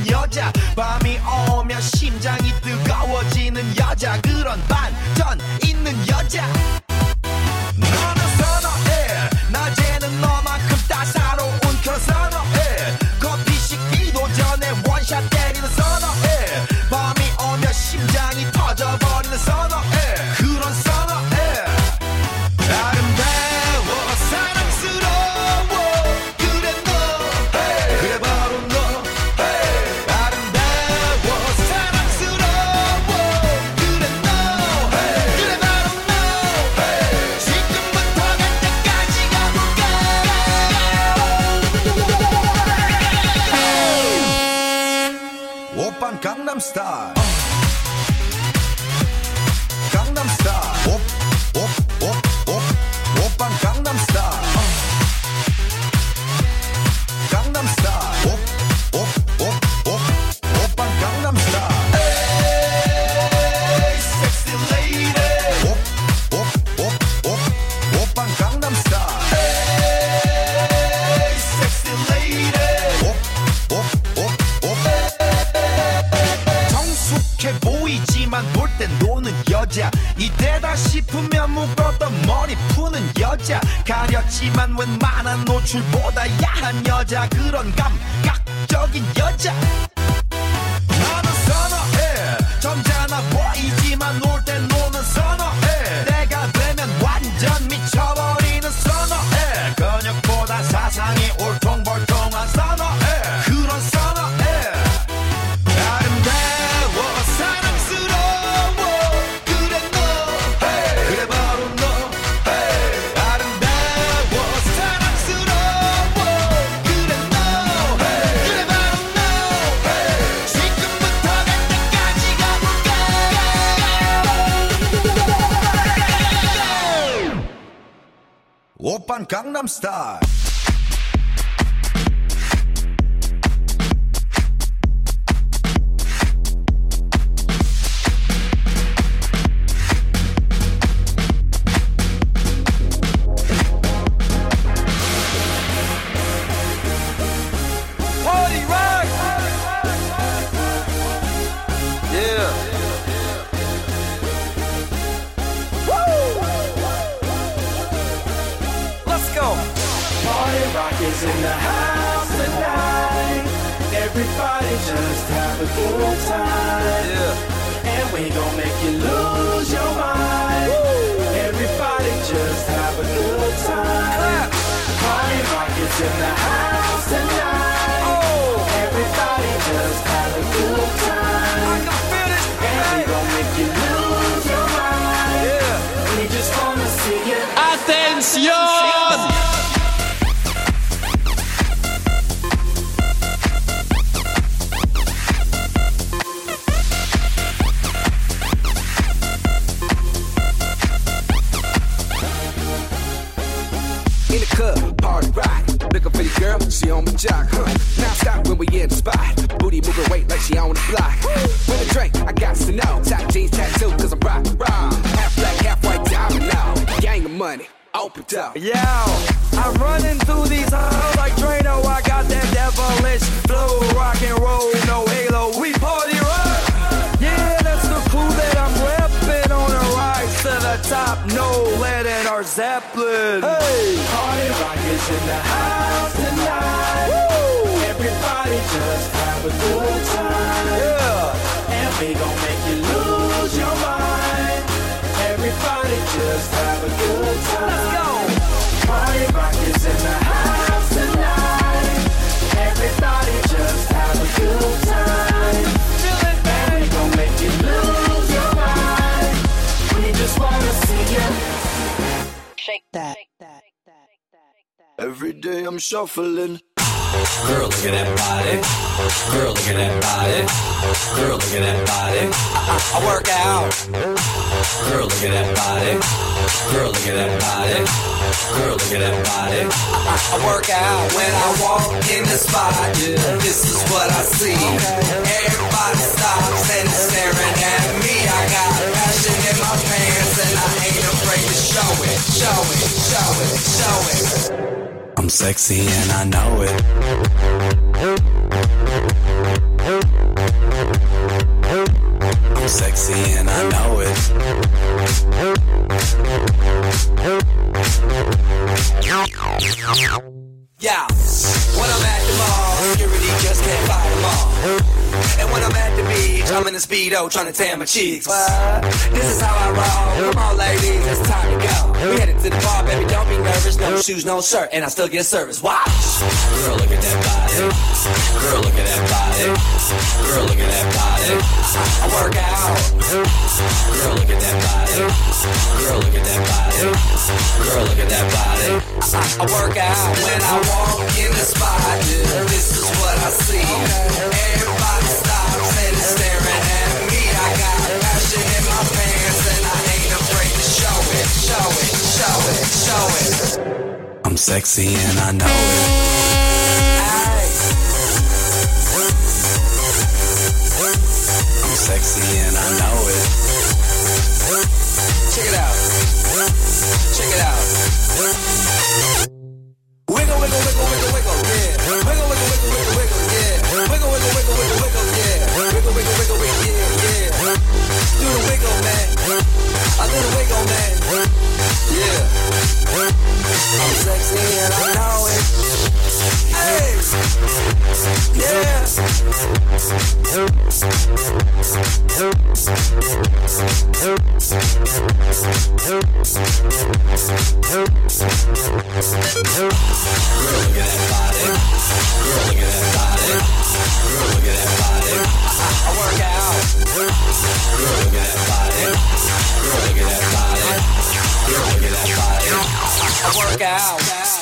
Speaker 1: 있는 여자 밤이 오면 심장이 뜨거워지는 여자 그런 반전 있는 여자 너는 선호해 낮에는 너만큼 따사로운 그런 선호해 커피 식기도 전에 원샷 때리는 선호해 밤이 오면 심장이 터져버리는 선호해 그런 선호해 아름다워 사랑스러워 그래 너 그래 바로 너 아름다워 사랑스러워 그래 너 그래 바로 너 지금부터 갈 때까지 가볼까 오빤 강남스타일 강남스타일 오빤 강남스타일 강남스타일 오빤 강남스타일 에이 섹시 레이디 오빤 강남스타일 에이 섹시 레이디 성숙해 보이지만 볼 땐 노는 여자 이때다 싶으면 묶었던 머리 푸는 여자 가렸지만 웬만한 노출보다 야한 여자 그런 감각적인 여자 나는 선호해 점잖아 보이지만 놀 땐 노는 선호해 내가 되면 완전 미쳐버리는 선호해 근육보다 사상이 울퉁불퉁한 선호해 그런 선호해 아름다워 사랑스러워 그래 너 그래 바로 너 아름다워 사랑스러워 그래 너 그래 바로 너 지금부터 갈 때까지 가볼까 오빤 강남스타일
Speaker 22: Party rock! Yeah. Woo! Let's go.
Speaker 18: Party rock is in the house tonight. Everybody just have a good time.
Speaker 22: Yeah.
Speaker 18: And we gon' make you lose your mind. Everybody just have a good time. Party rock is in the house tonight. Everybody just have a good time. And we gon' make you lose your mind. We just wanna see you.
Speaker 22: Attention!
Speaker 23: In the club, party rock. Looking for your girl, she on my jock, huh? Now stop when we in the spot. Booty moving weight like she on the block. With a drink, I got to know. Tight jeans tattoo, cause I'm rock, raw. Half black, half white diamond now. Gang of money, open up.
Speaker 22: Yo, I'm running through these halls like Drano. I got that devilish flow, rock and roll, no halo. We party rock. Yeah, that's the crew that I'm repping on a rise to the top. No lead in our Zeppelin. Hey,
Speaker 18: Party rock is in the house tonight. Everybody just have a good time.
Speaker 22: Yeah.
Speaker 18: And we gon' make you lose your mind. Everybody just have a good time.
Speaker 22: Let's go.
Speaker 18: Party rock is in the house tonight. Everybody just have a good time. And we gon' make you lose your mind. We just wanna see you
Speaker 15: Shake that.
Speaker 23: Every day I'm shuffling.
Speaker 24: Girl, look at that body. Girl, look at that body. Girl, look at that body. I work out. Girl, look at that body. Girl, look at that body. Girl, look at that body. I work out when I walk in the spot. This is what I see. Everybody stops and is staring at me. I got passion in my pants and I ain't afraid to show it. Show it, show it, show it. I'm sexy and I know it. I'm sexy and I know it. Yeah, when I'm at the mall, security just can't fight them all. And when I'm at the beach, I'm in a Speedo trying to tan my cheeks. What? This is how I roll. Come on, ladies, it's time to go. We headed to the bar, baby, don't be nervous. No shoes, no shirt, and I still get service. Watch. Girl, look at that body. Girl, look at that body. Girl, look at that body. I work out. Girl, look at that body. Girl, look at that body. Girl, look at that body. I work out when I walk in the spot. This is what I see. Everybody stops and is staring at me. I got passion in my pants and I ain't afraid to show it, show it, show it, show it. I'm sexy and I know it. Ay. I'm sexy and I know it. Check it out. Check it out. Wiggle, wiggle, wiggle, wiggle, wiggle, yeah. Wiggle, wiggle, wiggle, wiggle, wiggle, yeah. Wiggle, wiggle, wiggle, wiggle, wiggle, yeah. Wiggle, wiggle, wiggle, wiggle, yeah, yeah. Do the wiggle, man. I do the wiggle, man. Yeah. I'm sexy and I know it. Hey. Yeah. Girl, look at that body. Girl, look at that body. Girl, look at that body. I work out. Girl, look at that body. Girl, look at that body. Girl, look at that body. I work out.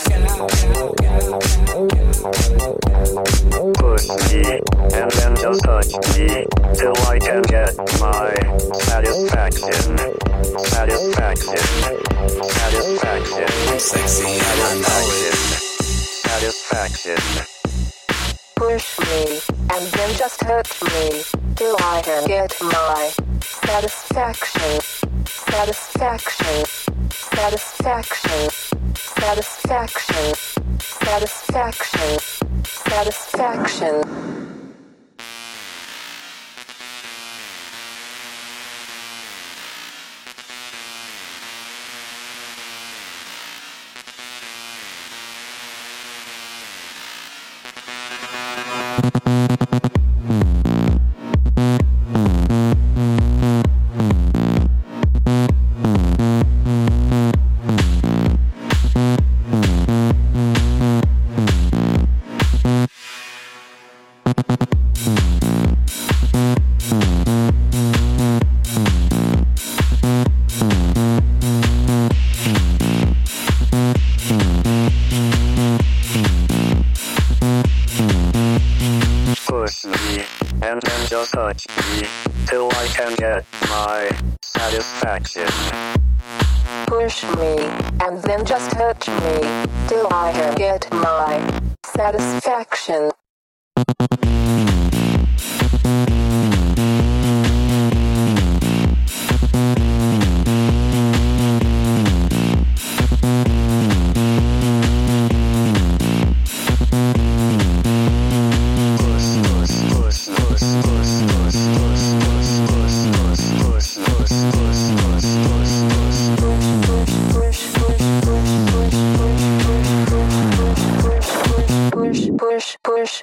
Speaker 2: Push me and then just touch me till I can get my satisfaction. Satisfaction. Satisfaction.
Speaker 24: I'm sexy and I know it.
Speaker 2: Satisfaction.
Speaker 4: Push me, and then just hurt me, till I can get my satisfaction. Satisfaction. Satisfaction. Satisfaction. Satisfaction. Satisfaction.
Speaker 2: Push me and then just touch me till I can get my satisfaction.
Speaker 4: Push me, and then just hurt me, till I can get my satisfaction. Push, push,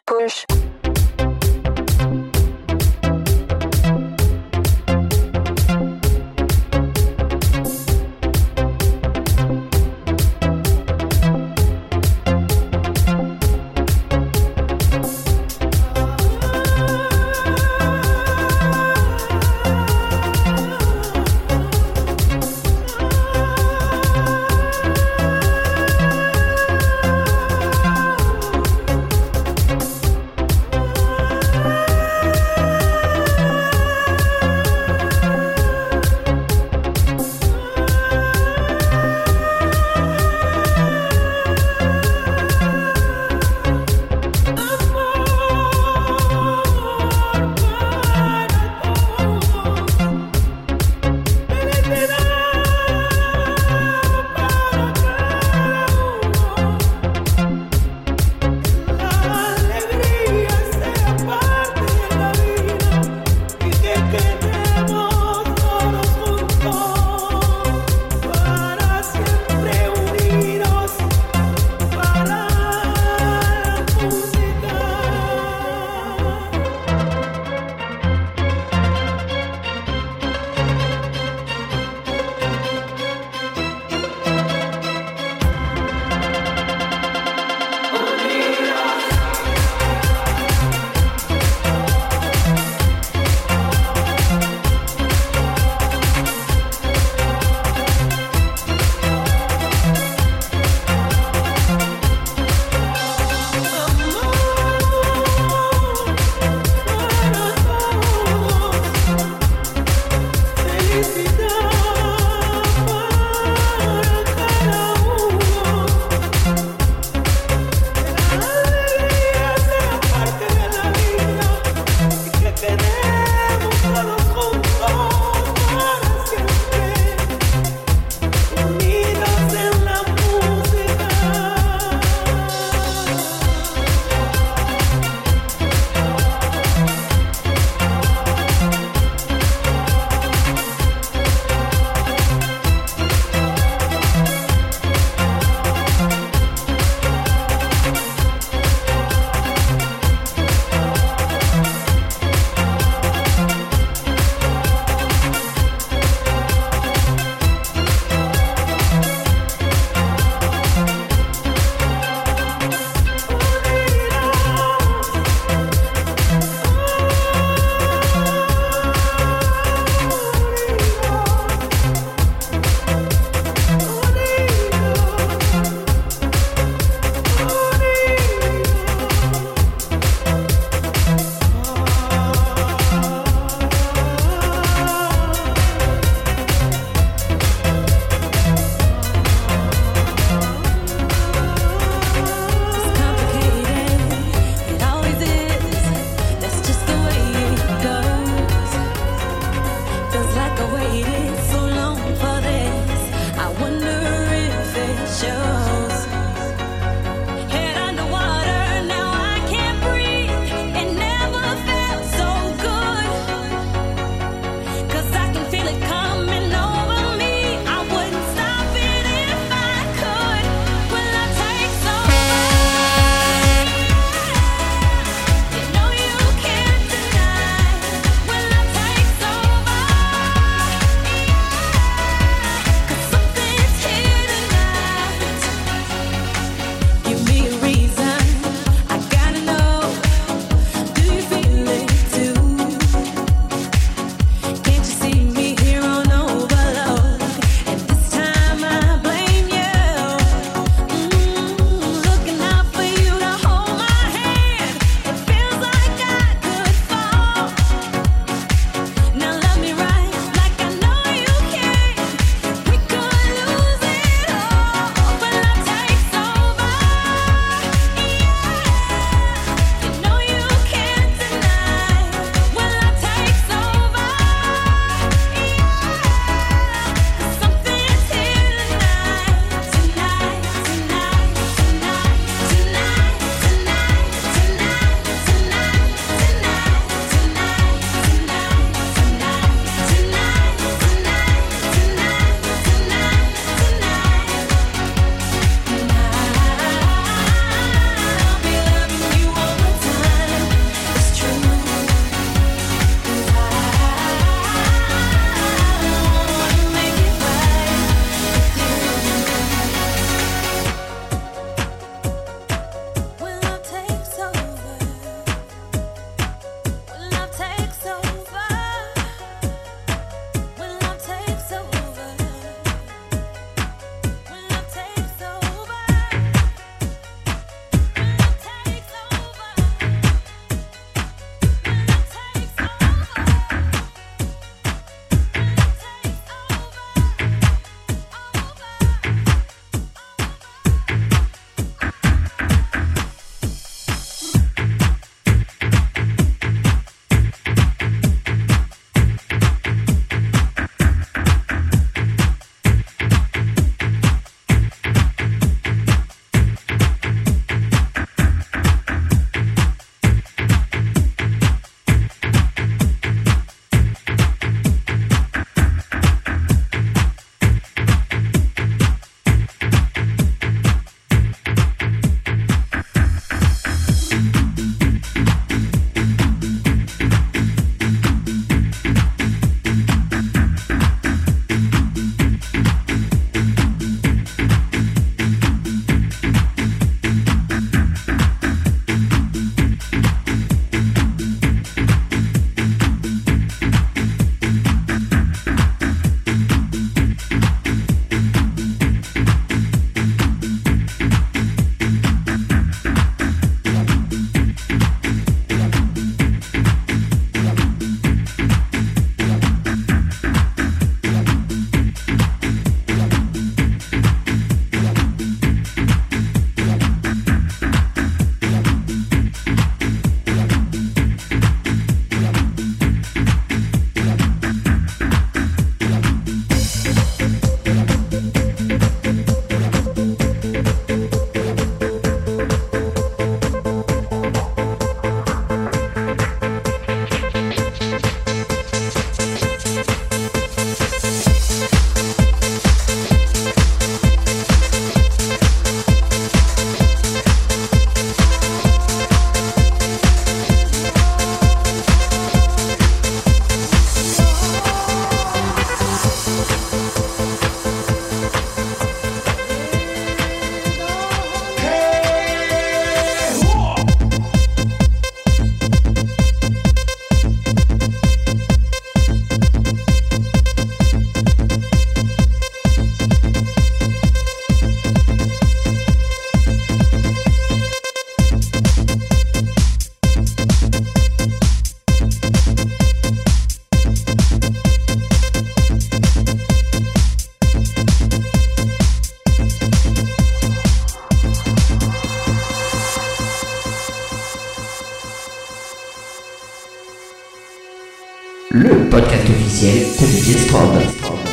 Speaker 20: podcast officiel de DJ Strobe.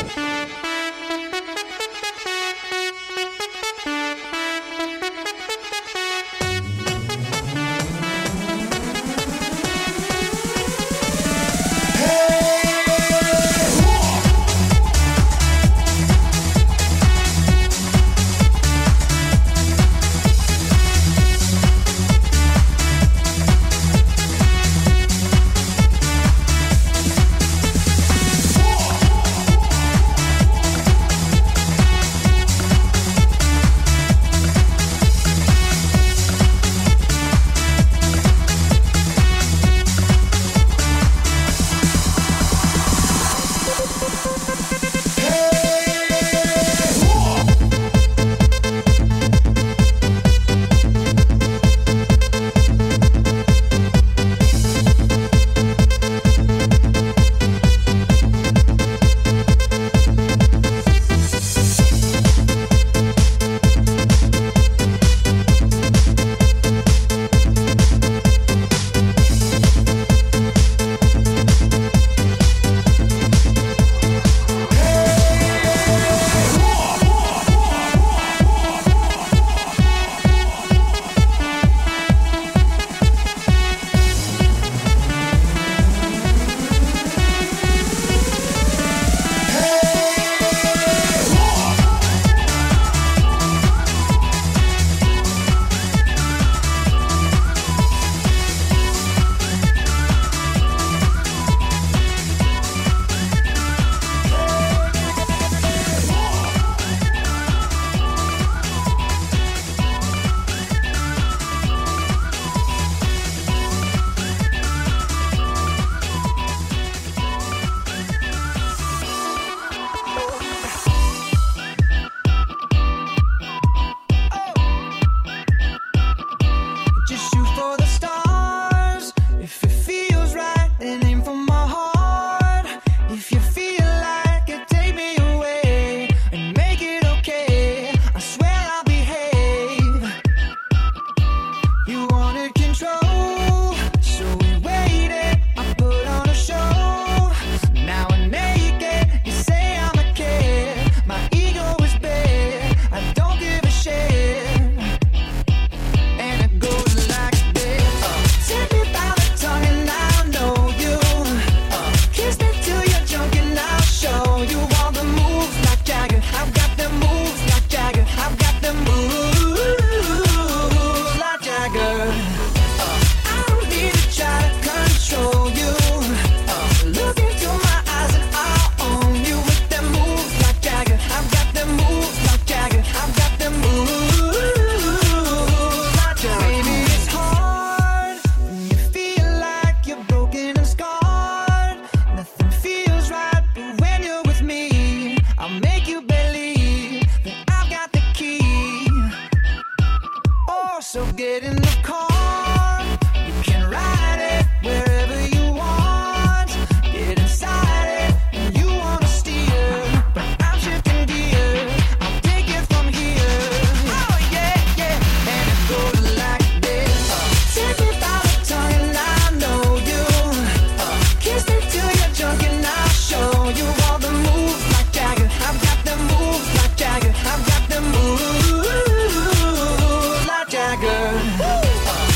Speaker 18: Just shoot for the stars. If it feels right, then aim for my heart. If you feel like it, take me away and make it okay. I swear I'll behave. You wanted control, so we waited. I put on a show. Now I'm naked. You say I'm a kid. My ego is big. I don't give a shit. And it goes like this. Take me by the tongue and I'll know you. Kiss me till you're drunk and I'll show you all the moves like Jagger. I've got the moves like Jagger. I've got the moves like Jagger. I don't need to try to control you. Look into my eyes and I'll own you with them moves like Jagger. I've got the moves like Jagger. I've got the moves like Jagger. Baby, it's hard when you feel like you're broken and scarred. Nothing feels right, but when you're with me, I'll make you believe that I've got the key. Oh, so get in the car. You can ride it wherever you want. Get inside it and you wanna steer, but I'm shifting gears. I'll take it from here. Oh yeah, yeah, and it goes like this. Take me by the tongue and I know you. Kiss me till you're drunk and I'll show you all the moves like Jagger. I've got the moves like Jagger. I've got the moves like Jagger.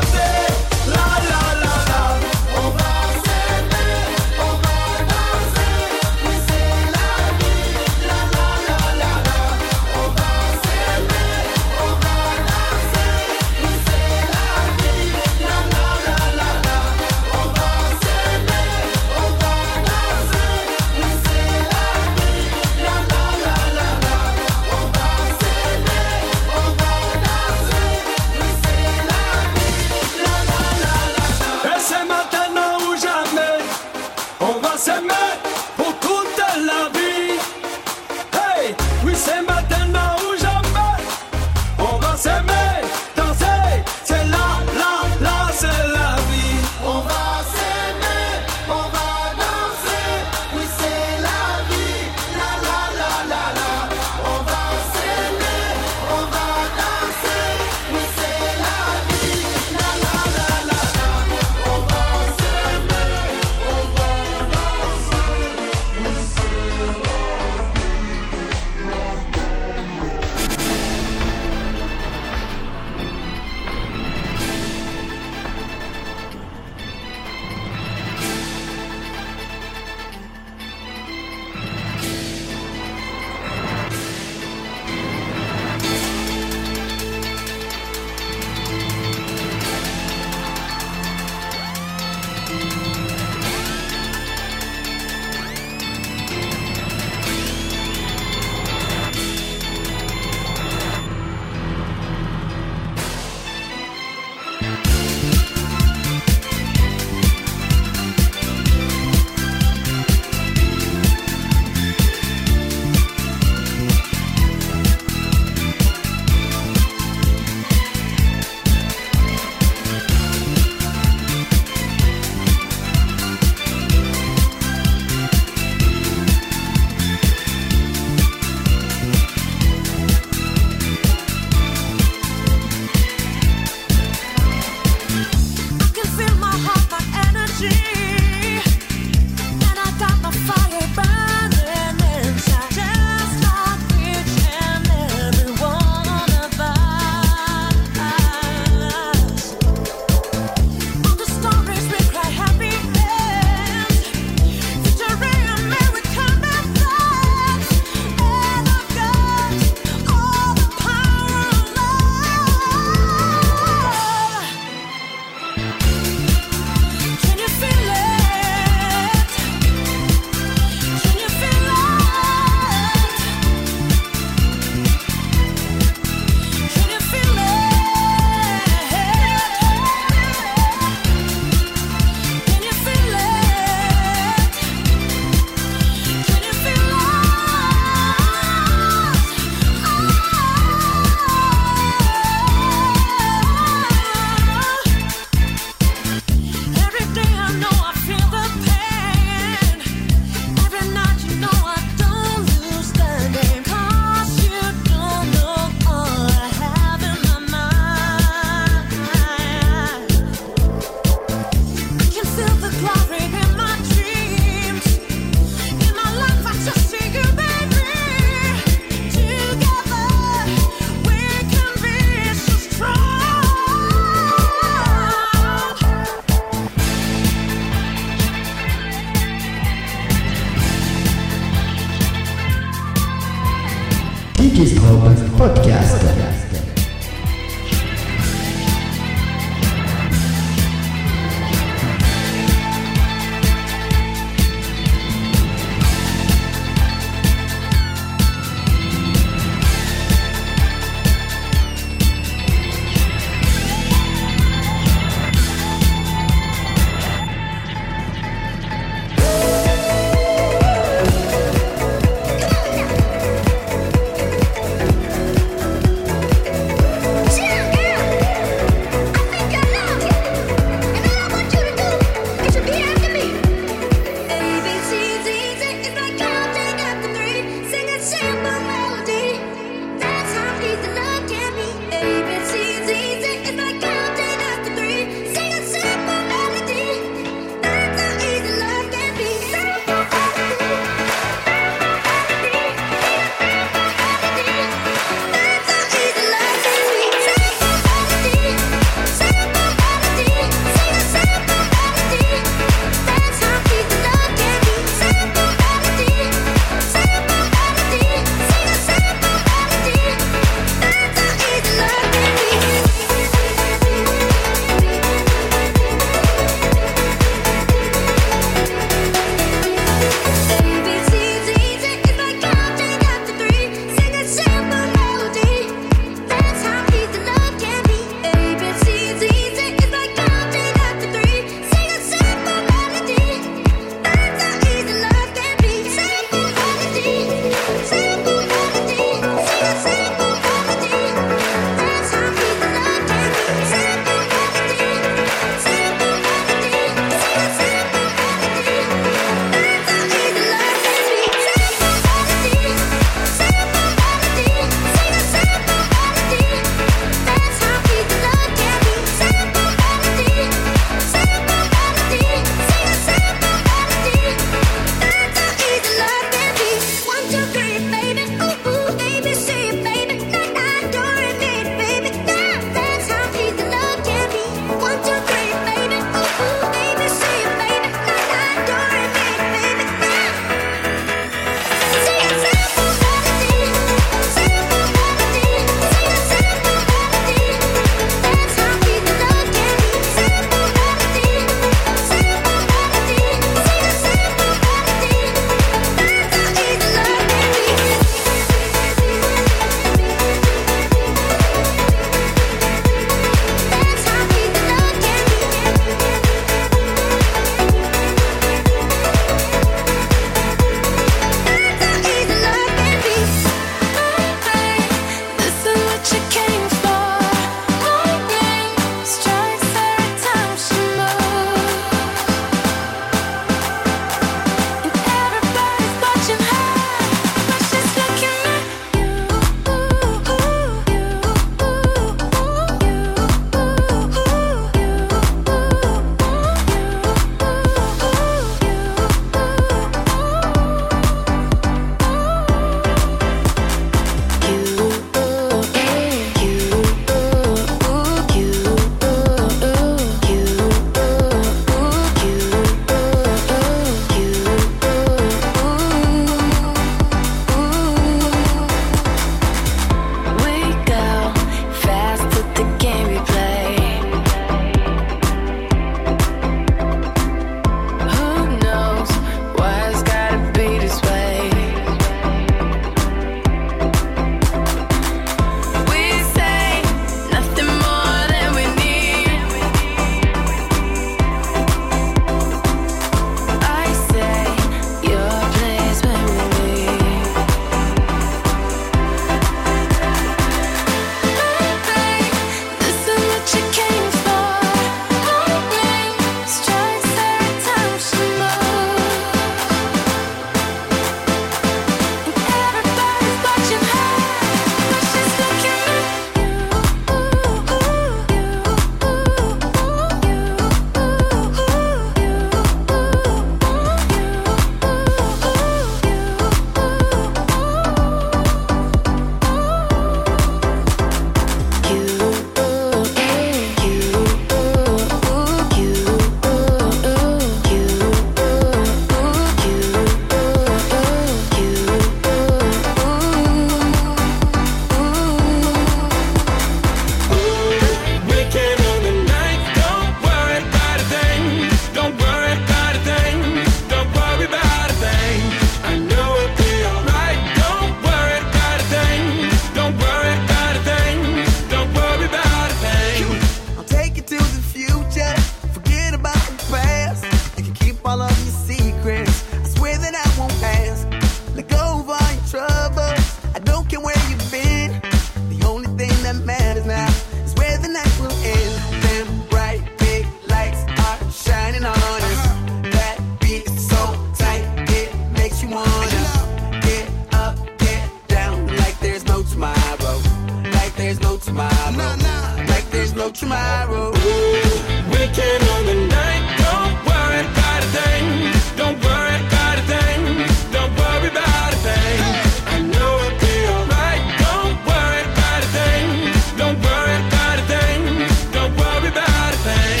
Speaker 21: tomorrow. Like there's no tomorrow.
Speaker 7: Weekend on the night, don't worry about a thing. Don't worry about a thing. Don't worry about a thing. I know it'll be alright. Don't worry about a thing. Don't worry about a thing. Don't worry about a thing.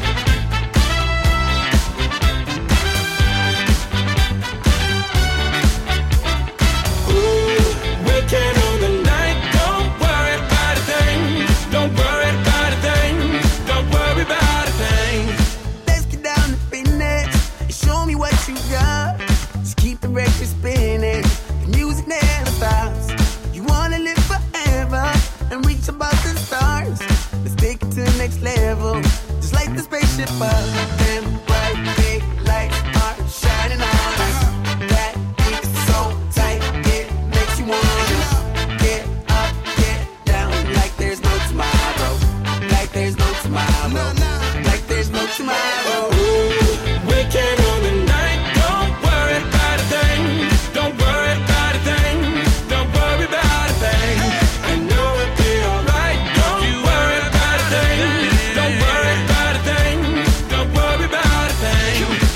Speaker 7: Weekend on the night, don't worry about a thing. Don't worry about a thing. Don't worry about a thing.
Speaker 21: Let's get down to business and show me what you got. Just keep the record spinning. The music never stops. You wanna live forever and reach above the stars. Let's take it to the next level. Just like the spaceship up. Them bright big lights are shining on us. That beat is so tight, it makes you wanna get up, get down. Like there's no tomorrow. Like there's no tomorrow. Like there's no tomorrow.
Speaker 7: Weekend on the night, don't worry about a thing. Don't worry about a thing. Don't worry about a thing. I know it'll be alright. Don't worry about a thing. Don't worry about a thing. Don't worry about a thing.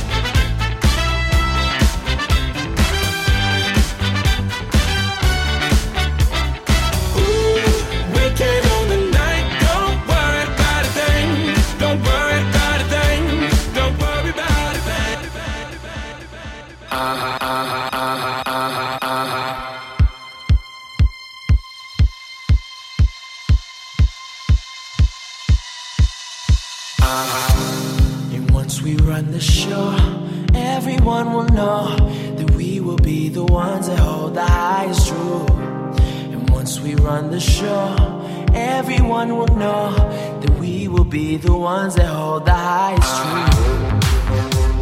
Speaker 7: Weekend on the night, don't worry about a thing. Don't worry about a thing. Don't worry about a thing.
Speaker 8: And once we run the show, everyone will know that we will be the ones that hold the highest truth. And once we run the show, everyone will know that we will be the ones that hold the highest truth.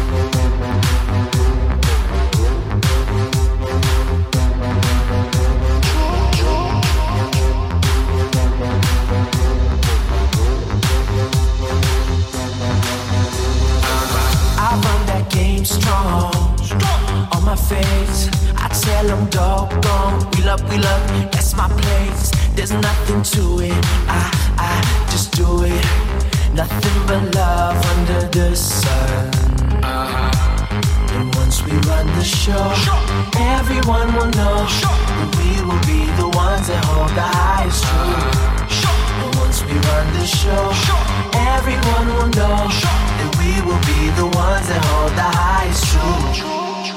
Speaker 8: I run that game strong. On my face, I tell them doggone. We love, that's my place. There's nothing to it, I just do it. Nothing but love under the sun. And once we run the show, everyone will know that we will be the ones that hold the highest truth. And once we run the show, everyone will know that we will be the ones that hold the highest truth.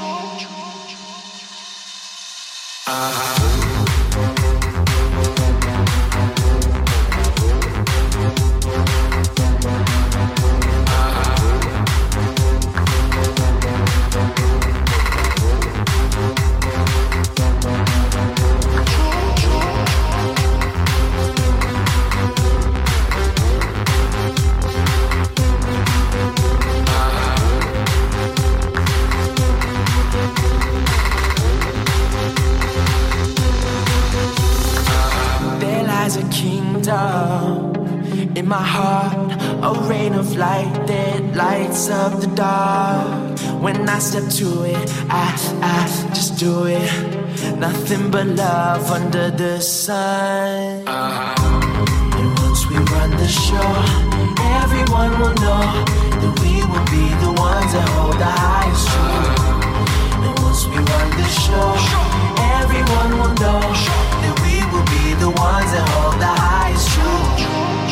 Speaker 8: There lies a kingdom in my heart, a rain of light that lights up the dark. When I step to it, I just do it. Nothing but love under the sun. And once we run the show, everyone will know that we will be the ones that hold the highest truth. And once we run the show, everyone will know that we will be the ones that hold the highest truth.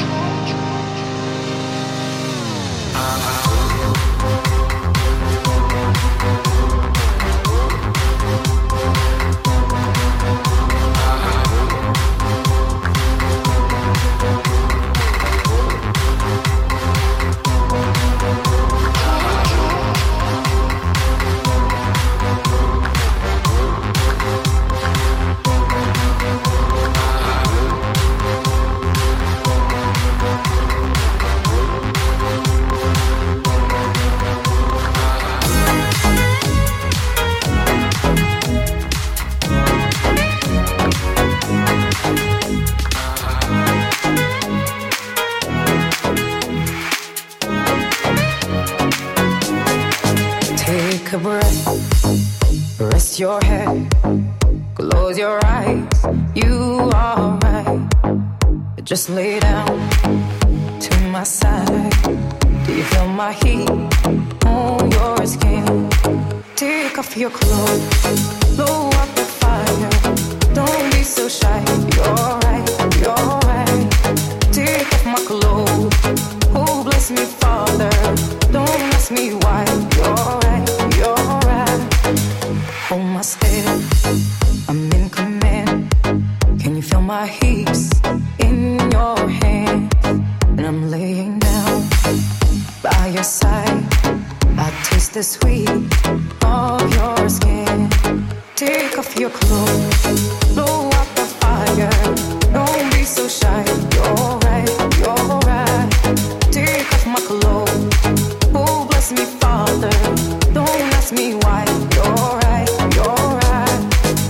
Speaker 12: Take a breath, rest your head, close your eyes, you are right. Just lay down to my side. Do you feel my heat on your skin? Take off your clothes, blow up the fire. Don't be so shy. You're right, you're right. Take off my clothes. Oh, bless me, Father. Don't ask me why. You're right, you're right. Hold my step. I'm in command. Can you feel my hips in your hands? And I'm laying down by your side. I taste the sweet of your skin. Take off your clothes, blow up the fire. Don't be so shy. You're right, you're right. Take off my clothes. Oh, bless me, Father. Don't ask me why. You're right, you're right.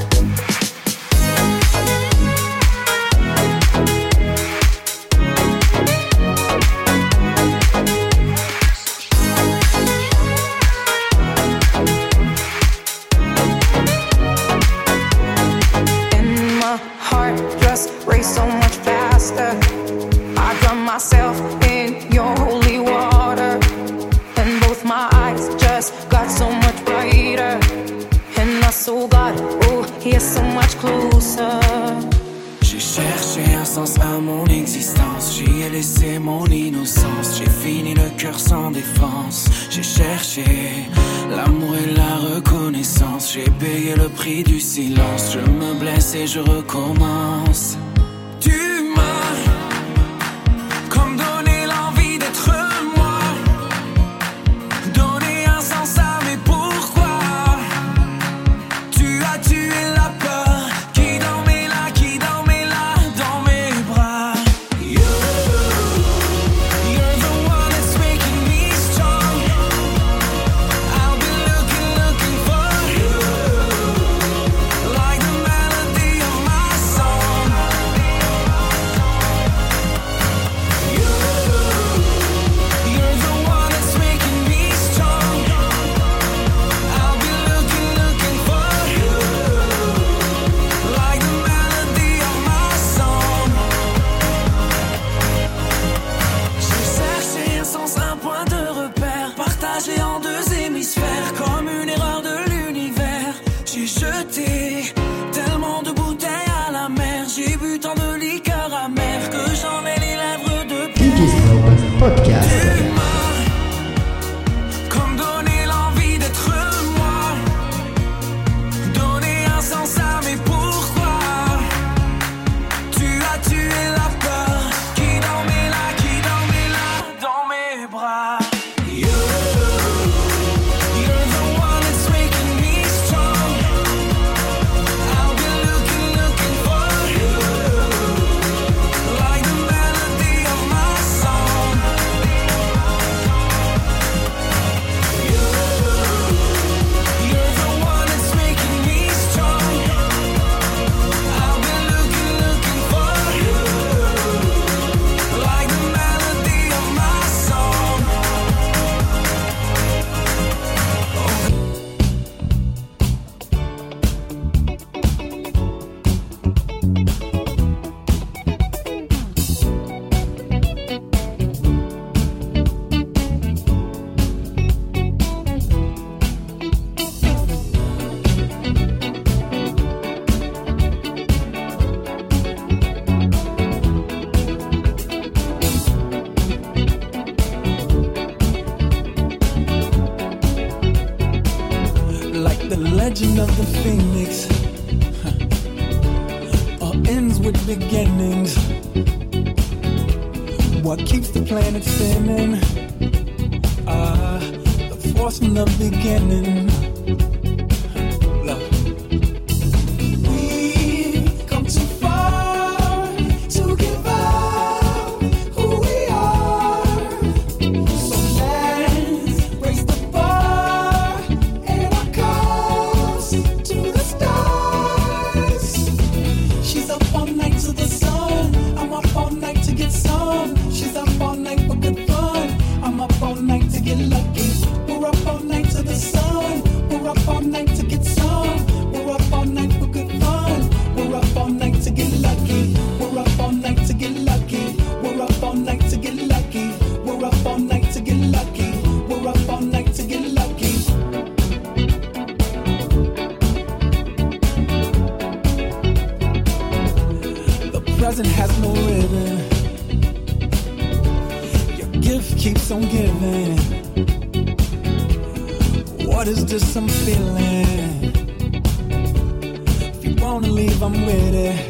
Speaker 12: And my heart just race so much faster. I drown myself in your holy water, and both my eyes just got so much brighter. And I saw God, oh, He is so much closer.
Speaker 11: J'ai cherché un sens à mon existence, j'y ai laissé mon innocence. J'ai fini le cœur sans défense. J'ai cherché l'amour et la reconnaissance. J'ai payé le prix du silence. Je me blesse et je recommence. Tu m'as comme donné l'envie d'être moi, donné un sens à mes pourquoi. Tu as tué la peur qui dormait là, dans mes bras. You're the one that's making me strong. I'll be looking for you, like the melody of my song. You're the one that's making me strong. I'll be looking for you, like the melody of my song. J'ai cherché un sens, un point de repère, partagé en deux hémisphères, comme une erreur de l'univers. J'ai jeté tellement de bouteilles à la mer, j'ai bu tant de liqueurs amères que j'en ai les lèvres de pierre.
Speaker 20: DJ Snowbus Podcast.
Speaker 11: Tu m'as comme donné l'envie d'être moi, donné un sens à mes pourquoi. Tu as tué la peur qui dormait là, dans mes bras. You're the one that's making me strong. I'll be looking for you, like the melody of my song. You're the one that's making me strong. I'll be looking for you, like the melody of my song.
Speaker 13: Like the legend of the phoenix, all ends with beginnings. What keeps the planet spinning? The force from the beginning. Look. We've come too far to give up who we are. So let's raise the bar and our cups to the stars. She's up all night to the sun. I'm up all night to get some. She's up all night for good fun. I'm up all night to get lucky. We're up all night to the sun.
Speaker 18: keeps on giving. What is this I'm feeling? If you wanna leave, I'm with it.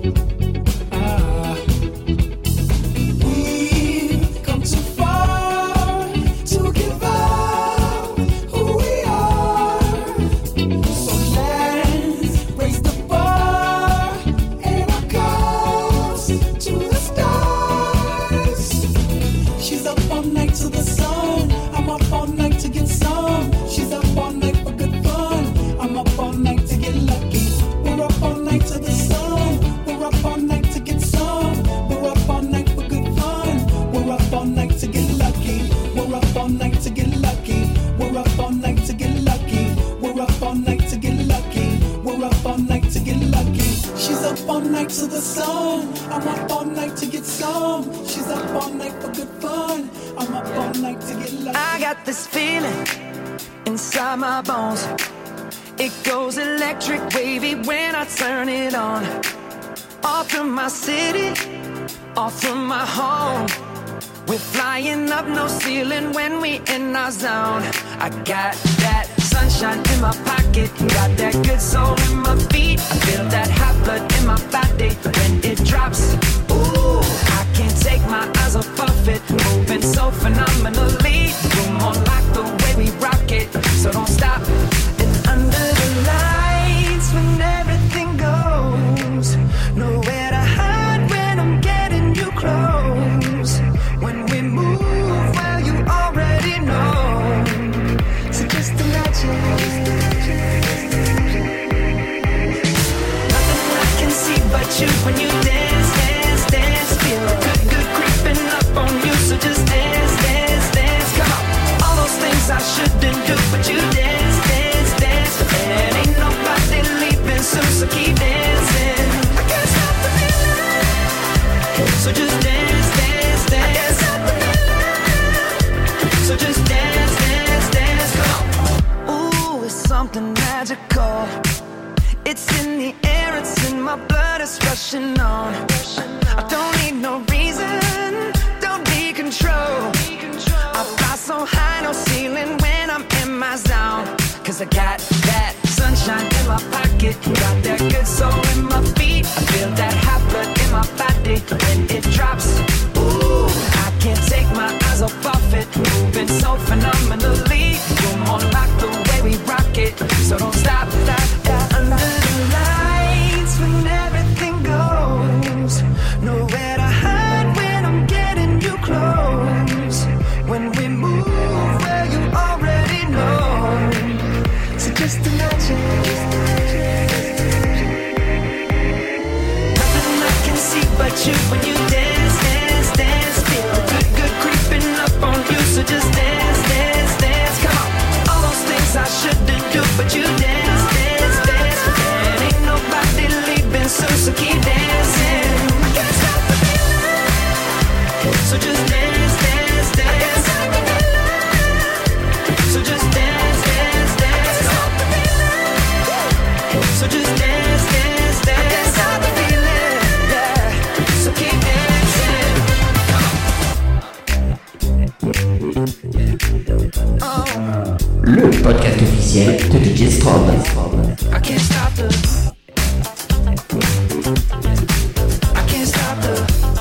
Speaker 18: We've come too far to give up who we are. So let's raise the bar and our cups to the stars. She's up all night to the sun. I'm up all night to get some. She's up all night for good fun. I'm up all night to get lucky. We're up all night to the sun. We're up all night to get some. We're up all night for good fun. We're up all night to get lucky. We're up all night to get lucky. We're up all night to get lucky. We're up all night to get lucky. We're up all night to get lucky. She's up all night to the sun. I'm up all night to get some. She's up all night for good fun. I'm up all night to get lucky.
Speaker 12: I got this feeling inside my bones. It goes electric wavy when I turn it on. Off from my city, off from my home. We're flying up, no ceiling when we in our zone. I got that sunshine in my pocket, got that good soul in my feet. I feel that hot blood in my body when it drops. Ooh, I can't take my eyes off of it, moving so phenomenally. You're more like the way we rock it, so don't stop. And under the lights, when everything goes, nowhere to hide when I'm getting you close. When we move, well, you already know. So just imagine. Nothing I can see but you when you dance, dance, dance. Feel good, good creeping up on you. So just dance, dance, dance. Come on. All those things I shouldn't do, but you dance, dance, dance. And ain't nobody leaving soon, so keep dancing. I can't stop the feeling. So just dance, dance, dance. I can't stop the feeling. So just dance, dance, dance. Come on. Ooh, it's something magical. It's in the air, it's in my blood, it's rushing on. I don't need no reason, don't be control. I fly so high, no ceiling when I'm in my zone. Cause I got that sunshine in my pocket, got that good soul in my feet. I feel that hot blood in my body when it drops. Ooh, I can't take my eyes off of it, moving so phenomenally. You're more like the way we rock it, so don't stop, stop, stop. Under the lights when everything goes, nowhere to hide when I'm getting you close. When we move, well, you already know. So just imagine. Nothing I can see but you when you dance, dance, dance. Feel good, good creeping up on you. So just dance, dance, dance. Come on. All those things I shouldn't do, but you dance, dance, dance. And ain't nobody leaving soon, so keep dancing. I can't stop the feeling. So just dance, dance, dance. I can't stop the feeling. So just dance, dance, dance. Stop the feeling. So just dance, dance, dance. I can't stop the feeling. Yeah. So keep dancing.
Speaker 20: Le podcast officiel de DJ Strobe.
Speaker 12: I can't stop the. I can't stop the.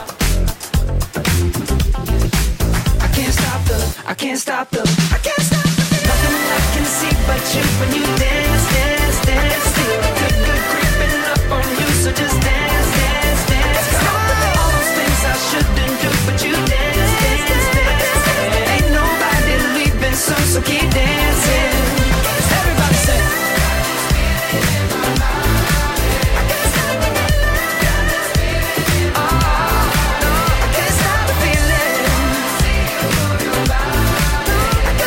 Speaker 12: I can't stop the. I can't stop the. I can't stop the. Nothing I can see but you when you dance, dance, dance. Feel good, good creeping up on you. So just dance, dance, dance. All those things I shouldn't do, but you dance, dance, dance. And ain't nobody leaving soon, so keep dancing. Everybody say. I can't stop the feeling.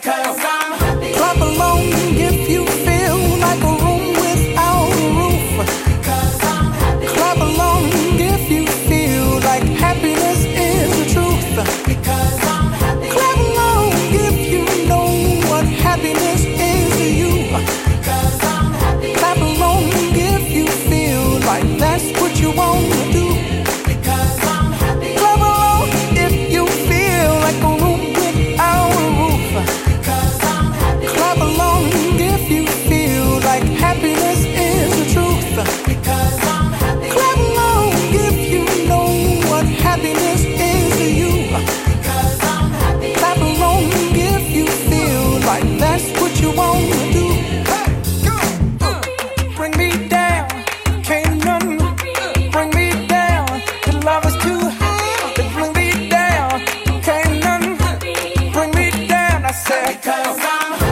Speaker 10: Because I'm happy.
Speaker 13: Clap along if you feel like a room without a roof.
Speaker 10: Because I'm happy.
Speaker 13: Clap along if you feel like happiness is the truth.
Speaker 10: Because I'm happy.
Speaker 13: Clap along if you know what happiness is to you.
Speaker 10: Because I'm happy.
Speaker 13: Clap along if you feel like that's what you want to do.
Speaker 10: Because I'm happy.
Speaker 13: Clap along if you feel like a room without a roof.
Speaker 10: Because I'm happy.
Speaker 13: Clap along if you feel like happiness is the truth.
Speaker 10: Because I'm happy.
Speaker 13: Clap along if you know what happiness is to you.
Speaker 10: Because I'm happy.
Speaker 13: Clap along if you feel like that's what you want to do. Bring me down, can't none bring me down. The love is too high to bring me down. Can't none bring me down. I said,
Speaker 10: Because I'm happy.